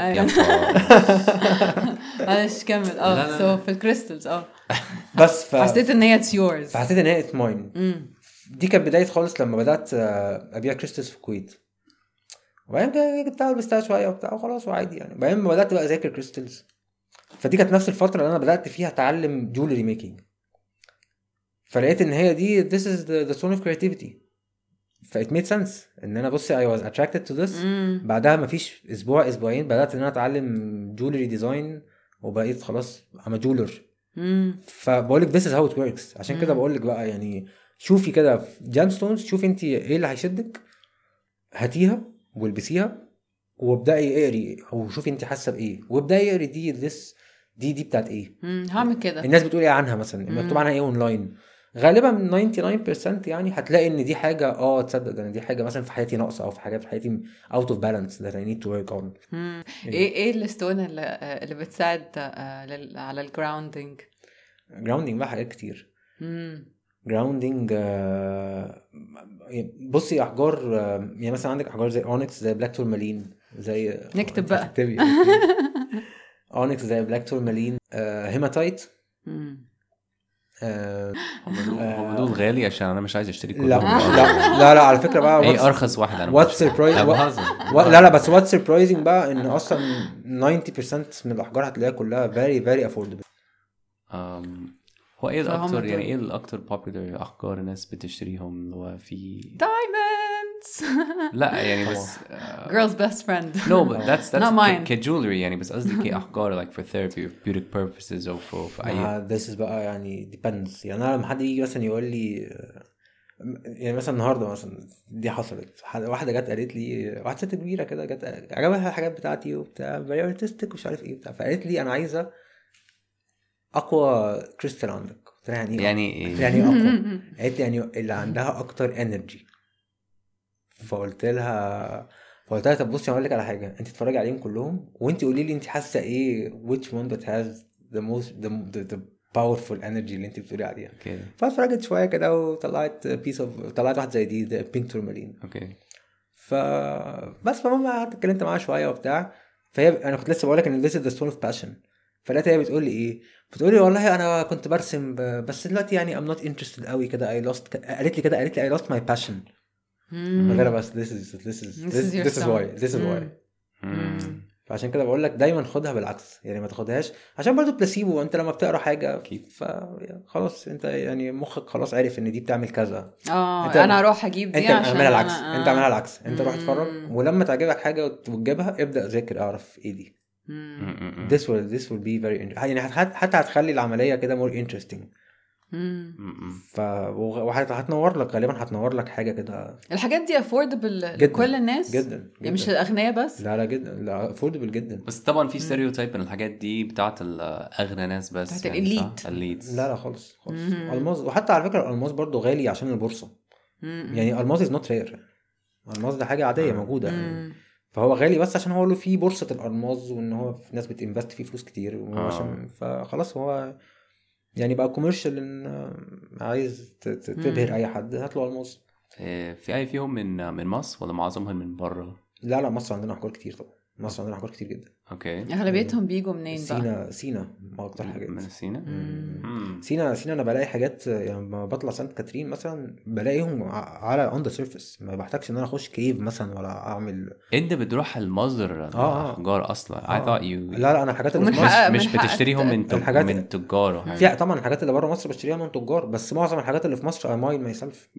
معلش كمل. في الكريستالز بس حسيت ان هي it's yours. فحسيت ان هي it's mine. دي كانت بدايه خالص لما بدات ابيع كريستالز في الكويت. وبعدين جبتها ولبستها شويه وبتاع وخلاص وعادي يعني. بعدين بدات بقى اذاكر كريستالز. فدي كانت نفس الفتره اللي انا بدات فيها اتعلم جولري ميكينج. فلقيت ان هي دي this is the zone of creativity. ف it made sense ان انا بصي I was attracted to this. بعدها مفيش اسبوعين بدات ان انا اتعلم جولري ديزاين وبقيت خلاص I'm a jeweler. فبقولك this is how it works. عشان كده بقولك بقى يعني شوفي كده جيم ستونز، شوفي انت ايه اللي هيشدك هاتيها والبسيها وابدأي اقري او شوفي انت حاسه بايه وابدأي اقري دي بتاعت ايه. هعمل كده. الناس بتقول ايه عنها مثلا مكتوب عنها ايه اونلاين. غالبا 99% يعني هتلاقي ان دي حاجه تصدق ان دي حاجه مثلا في حياتي ناقصه او في حاجه في حياتي out of balance that I need to work on. ايه الستون اللي بتساعد على الجراوندينج؟ جراوندينج بقى حاجات كتير. جراوندينج بصي احجار يعني مثلا عندك احجار زي اونكس زي بلاك تورمالين زي نكتب بقى اونكس زي بلاك تورمالين هيماتايت. هم دول غالي عشان انا مش عايز اشتري كلهم. لا على فكره بقى ايه ارخص واحد انا وات سربرايز لا بس وات سربرايزنج بقى ان اصلا 90% من الاحجار هتلاقيها كلها very very affordable. هو ايه الاكتر يعني ايه الاكتر popular احجار الناس بتشتريهم؟ هو في دايموند friends. لا يعني بس Girl's best friend. no but that's Not mine. كجولري يعني بس قصدي كأحجار like for therapy or beauty purposes أو for أي this is بقى يعني depends. يعني انا لما حد يجي مثلا يقول لي يعني مثلا النهارده مثلا دي حصلت، واحده جت قالت لي، واحده ست كبيره كده جت عجبها الحاجات بتاعتي وبتاع very artistic ومش عارف ايه بتاع، فقالت لي انا عايزه اقوى كريستال عندك. قلت لها يعني يعني يعني اقوى. قالت لي يعني اللي عندها اكتر انرجي. فقلت لها طب بصي هقول لك على حاجه، انت اتفرجي عليهم كلهم وانت قولي لي انت حاسه ايه which one that has the most the powerful energy اللي انت بتقولي عليها. اوكي فاتفرجت شويه كده وطلعت طلعت واحده زي دي بينك تورمالين. اوكي بس فماما قعدت اتكلمت معاها شويه وبتاع، فهي انا كنت لسه بقول لك ان this is the stone of passion. فلقيتها هي بتقول لي ايه، بتقول لي والله انا كنت برسم بس دلوقتي يعني I'm not interested قوي كده قالت لي I lost my passion. غير بس this is why. فعشان كده بقول لك دايما خدها بالعكس، يعني ما تاخدهاش عشان برضو بلاسيبو. انت لما بتقرا حاجه خلاص انت يعني مخك خلاص عارف ان دي بتعمل كذا. انا اروح اجيب دي عشان اعملها العكس. انت اعملها العكس، انت روح اتفرج ولما تعجبك حاجه وتجيبها ابدا ذاكر اعرف ايه دي. this will be very يعني حتى هتخلي العمليه كده more interesting. وهتنور لك غالبا، هتنور لك حاجه كده. الحاجات دي affordable لكل الناس جدا يعني مش الاغنياء بس. لا جدا، لا affordable جدا. بس طبعا في ستيريوتايب ان الحاجات دي بتاعت الاغنى ناس بس، بتاعت الاليت. لا خالص الماس. وحتى على فكره الالماس برضو غالي عشان البورصه. يعني الماس is not rare. الماس ده حاجه عاديه موجوده يعني. فهو غالي بس عشان هو له فيه بورصه الالماس وان هو في ناس بتinvest فيه فلوس كتير وعشان فخلاص هو يعني بقى كوميرشال. ان عايز تبهر اي حد هات له الماس. في اي فيهم من مصر ولا معظمهم من بره؟ لا مصر عندنا احجار كتير طبعا. مصر عندنا احجار كتير جدا. اوكي. اغلبيتهم بيجوا منين بقى؟ سينا ما اكتر حاجات من سينا. سينا انا بلاقي حاجات يعني لما بطلع سانت كاترين مثلا بلاقيهم على اون ذا سيرفيس، ما بحتاجش ان انا اخش كيف مثلا ولا اعمل. انت بتروح المصدر الاحجار الا I thought you لا انا الحاجات اللي في مصر مش بتشتريهم من تجار في طبعا الحاجات اللي بره مصر بشتريها من تجار، بس معظم الحاجات اللي في مصر ماين ماي سيلف.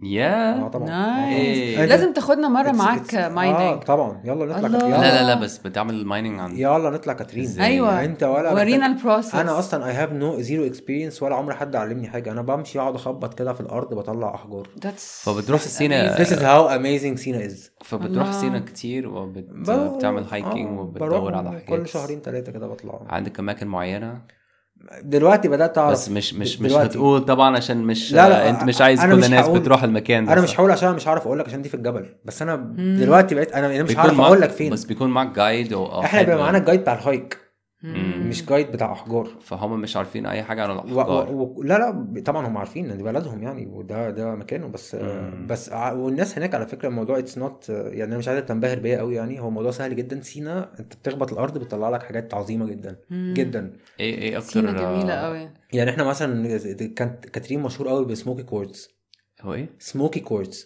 طبعا لازم تاخدنا مره معاك مايننج. طبعا يلا نطلع. لا بس بتعمل المايننج عن يلا نطلع كاترين. ايوه انت ولا ورينا البروسيس. انا اصلا I have no zero experience ولا عمر حد علمني حاجه. انا بمشي اقعد اخبط كده في الارض بطلع احجار. فبتروح سينا. This is how amazing سينا is. فبتروح سينا كتير وبتعمل هايكينج وبتدور على حاجات كل شهرين 3 كده بطلع. عندك اماكن معينه دلوقتي بدات اعرف بس مش هتقول طبعا عشان مش لا انت مش عايز كل الناس بتروح المكان ده. انا مش هقول عشان مش عارف اقول لك عشان دي في الجبل. بس انا دلوقتي بقيت انا مش عارف اقول لك فين. بس بيكون معاك جايد احنا بيبقى معانا الجايد بتاع الهايك مش جايد بتاع احجار. فهم مش عارفين اي حاجه عن الاحجار. لا طبعا هم عارفين ان دي بلدهم يعني وده مكانه بس والناس هناك على فكره الموضوع اتس نوت يعني انا مش عايز تنبهر بيا قوي يعني. هو موضوع سهل جدا. سينا انت بتخبط الارض بتطلع لك حاجات عظيمه جدا جدا. ايه اكتر سينا جميله قوي. يعني احنا مثلا كانت كاترين مشهور قوي بسموكي كورتس. هو ايه سموكي كورتس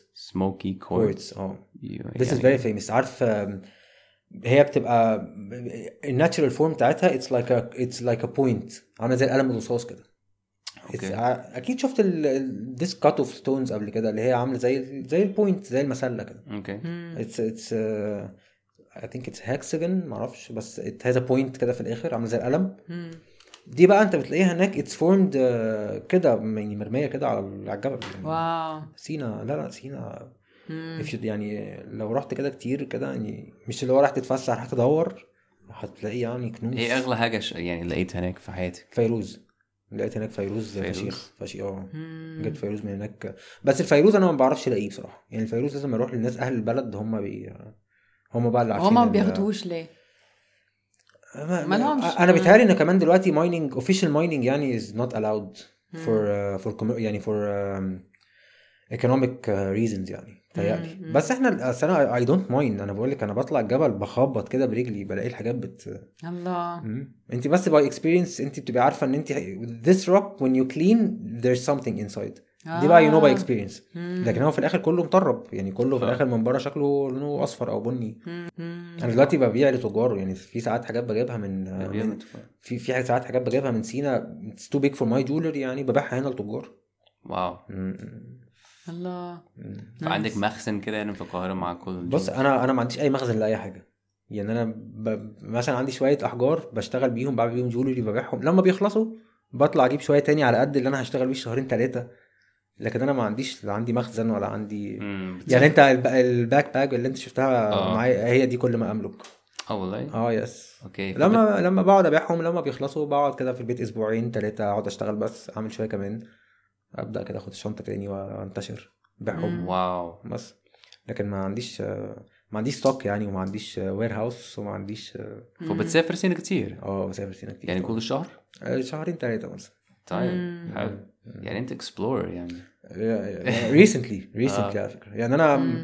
this is very famous. عارف هي بتبقى الناتشرال فورم بتاعتها it's like a point عامله زي القلم الرصاص كده. اكيد شفت this cut of stones قبل كده اللي هي عامله زي البوينت زي المسله كده. اوكي it's I think it's hexagon معرفش بس it has a point كده في الاخر عامله زي القلم. دي بقى انت بتلاقيها هناك it's formed كده يعني مرميه كده على الجبل يعني. واو سينا لا سينا يعني لو رحت كده كتير كده يعني مش اللي هو راح تتفسح راح تدور هتلاقي يعني كنوز. ايه اغلى حاجه يعني لقيت هناك في حياتك؟ فيروز. لقيت هناك فيروز فشيخ جبت فيروز من هناك. بس الفيروز انا ما بعرفش الاقيه بصراحه يعني. الفيروز لازم اروح للناس اهل البلد هم بقى اللي عارفين. هم ما بياخدوش ليه؟ انا بيتهيألي ان كمان دلوقتي مايننج official مايننج يعني is not allowed for يعني for economic reasons يعني تهيألي. بس احنا انا I don't mind. انا بقول لك انا بطلع الجبل بخبط كده برجلي بلاقي الحاجات الله. انت بس by experience انت بتبقى عارفه ان انت this rock when you clean there's something inside. دي بقى you know by experience. لكن هو في الاخر كله مطرب يعني كله في الاخر من بره شكله لونه اصفر او بني. انا دلوقتي ببيع لتجار يعني. في ساعات حاجات بجيبها من في ساعات حاجات بجيبها من سينا it's too big for my jewelry يعني ببيعها هنا لتجار. واو. الله. فعندك مخزن كده يعني في القاهره مع كل بص انا ما عنديش اي مخزن لاي حاجه. يعني انا مثلا عندي شويه احجار بشتغل بيهم، بعمل بيهم جولري، ببيعهم لما بيخلصوا بطلع اجيب شويه تاني على قد اللي انا هشتغل بيه شهرين 3. لكن انا ما عنديش، لا عندي مخزن ولا عندي يعني انت الباك باج اللي انت شفتها معايا هي دي كل ما املك. والله يس. اوكي. لما بقعد ابيعهم لما بيخلصوا بقعد كده في البيت اسبوعين 3 اقعد اشتغل بس اعمل شويه كمان ابدا كده اخد الشنطه تاني وانتشر بيعهم. واو. بس لكن ما عنديش ستوك يعني، وما عنديش وير هاوس، وما عنديش. فبتسافر سنة كتير؟ بسافر سنة كتير يعني كل شهر؟ شهرين 3 مثلا. طيب حلو. يعني انت اكسبلور يعني. ريسنتلي على فكرة يعني انا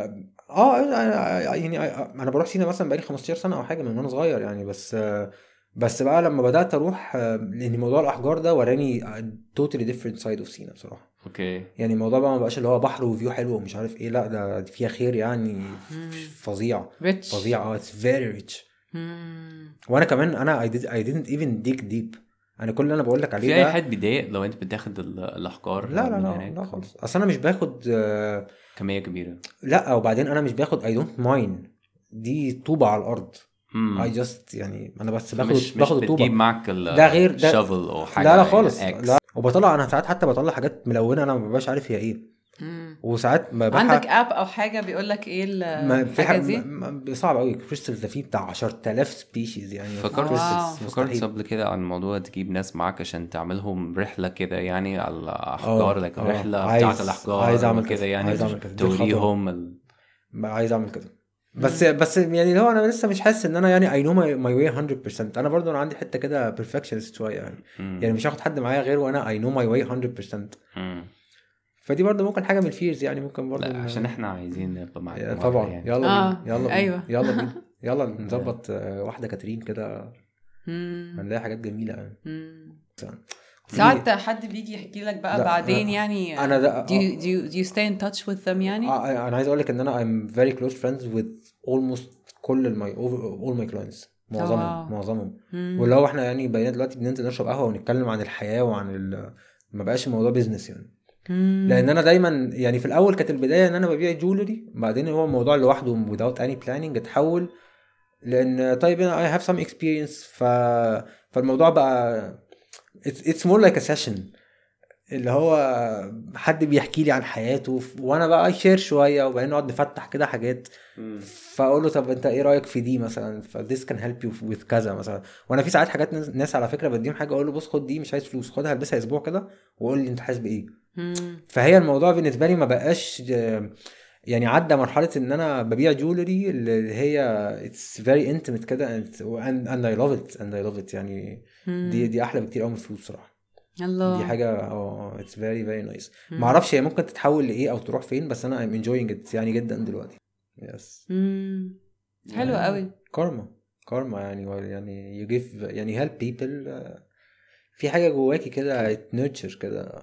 يعني انا بروح سينا مثلا بقالي 15 سنة او حاجة من وانا صغير يعني. بس بقى لما بدأت اروح لان موضوع الاحجار ده وراني totally different side of سينا بصراحة. اوكي. يعني الموضوع بقى ما بقاش اللي هو بحر وفيو حلو ومش عارف ايه، لا ده فيها خير يعني فظيع. فظيع. it's very rich. وانا كمان انا I didn't even dig deep. انا كل اللي انا بقول لك عليه في ده اي حد بيضايق لو انت بتاخد الاحجار لا خالص. اصل انا مش باخد كمية كبيرة. لا وبعدين انا مش باخد I don't mine. دي طوبة على الارض. I just يعني انا بس باخد الطوبة. بتجيب معك ده غير ده شافل او حاجة. لا خالص لا. وبطلع انا ساعات حتى بطلع حاجات ملونة انا ما ببقاش عارف هي ايه. وساعات عندك اب او حاجه بيقول لك ايه الحاجه دي؟ صعب قوي. كريستالز ده فيه بتاع 10,000 سبيشيز يعني. فكرت قبل كده عن الموضوع تجيب ناس معاك عشان تعملهم رحله كده يعني على الاحجار لك الرحله بتاعت الاحجار. عايز اعمل كده يعني توريهم عايز اعمل كده. بس يعني اللي هو انا لسه مش حاسس ان انا يعني I know my way 100%. انا برضو انا عندي حته كده perfectionist شويه يعني. يعني مش هاخد حد معايا غير وانا I know my way 100%. فدي برضه ممكن حاجه من الفيرز يعني. ممكن برضه عشان احنا عايزين نبقى معاك طبعا يعني. يلا بينا ايوه يلا بينا يلا نظبط واحده كاترين كده هنلاقي حاجات جميله يعني. ساعات حد بيجي يحكي لك بقى بعدين يعني انا do you stay in touch with them يعني؟ انا عايز اقول لك ان انا I'm very close friends with almost كل all my clients. معظمهم واللي هو احنا يعني بقينا دلوقتي بننزل نشرب قهوه ونتكلم عن الحياه وعن ما بقاش الموضوع بيزنس يعني. لان انا دايما يعني في الاول كانت البدايه ان انا ببيع جولري، بعدين هو الموضوع لوحده without any planning اتحول لان طيب انا I have some experience فالموضوع بقى it's more like a session اللي هو حد بيحكي لي عن حياته وانا بقى شير شويه وبعدين نقعد نفتح كده حاجات. فاقول له طب انت ايه رايك في دي مثلا this can help you with كذا مثلا. وانا في ساعات حاجات ناس على فكره بديهم حاجه اقول له بص خد دي مش عايز فلوس خدها البسها اسبوع كده وقول لي انت حاسس بايه. فهي الموضوع بالنسبه لي ما بقاش يعني عدى مرحله ان انا ببيع جولري اللي هي it's very intimate كده and I love it يعني. دي احلى بكتير قوي من الفلوس صراحه. الله. دي حاجه it's very very nice. ما اعرفش هي ممكن تتحول لايه او تروح فين بس انا I'm enjoying it يعني جدا دلوقتي. يس حلو قوي. كارما يعني you give يعني help people. في حاجه جواكي كده nurture كده.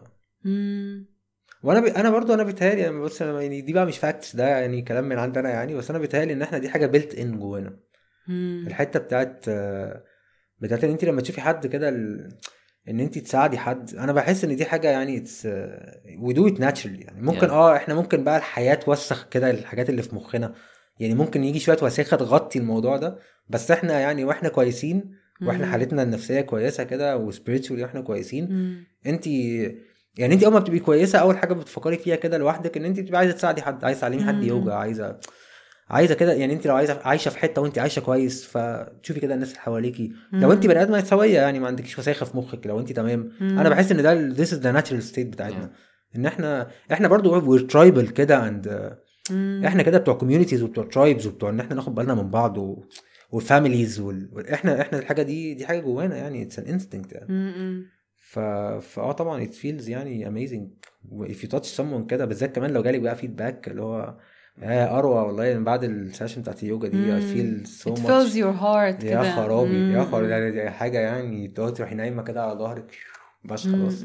وانا انا برضو انا بيتهيألي يعني بص يعني دي بقى مش فاكتس ده يعني كلام من عندنا يعني. بس انا بيتهيألي ان احنا دي حاجه built in جوانا. الحته بتاعت ان انت لما تشوفي حد كده ان انت تساعدي حد انا بحس ان دي حاجه يعني we do it naturally يعني. ممكن احنا ممكن بقى الحياه توسخ كده الحاجات اللي في مخنا يعني. ممكن يجي شويه وساخه تغطي الموضوع ده بس احنا يعني واحنا كويسين واحنا حالتنا النفسيه كويسه كده وسبيريتشولي واحنا كويسين. انت يعني انت اول ما بتبقي كويسه اول حاجه بتفكري فيها كده لوحدك ان انت بتبقي عايزه تساعدي حد. عايزه تعلمي حد يوجا عايزه كده يعني. انت لو عايشه في حته وانت عايشه كويس فتشوفي كده الناس اللي حواليكي لو انت بني ادمه سويه يعني ما عندكيش وساخه في مخك لو انت تمام. انا بحس ان ده this is the natural state بتاعتنا. ان احنا برضو we're tribal كده and احنا كده بتوع communities وبتوع tribes وبتوع ان احنا ناخد بالنا من بعض والفاميليز احنا الحاجه دي حاجه جوانا يعني it's an instinct يعني. طبعا it feels يعني amazing if you touch someone كده بالذات كمان لو جالي بقى فيدباك اللي هو اروى والله من بعد السيشن بتاعت اليوجا دي I feel so much. It fills your heart كده. يا خرابي يعني دي حاجه يعني تروحي نايمه كده على ظهرك بس خلاص.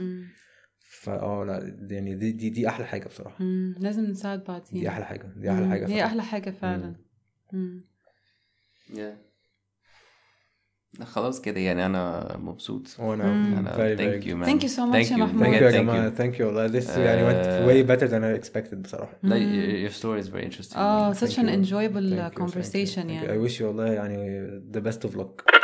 لا يعني دي احلى حاجه بصراحه. لازم نساعد بعضين. دي احلى حاجه هي احلى حاجه فعلا. خلاص كده يعني انا مبسوط. وانا أنا very thank very you man. Thank you so much Thank يا you. محمود. thank you بجد يا thank جماعة you. thank you والله this يعني went way better than I expected بصراحة. لا your story is very interesting. such Thank an you. enjoyable Thank you, thank you, conversation thank you. يعني. I wish you والله يعني the best of luck.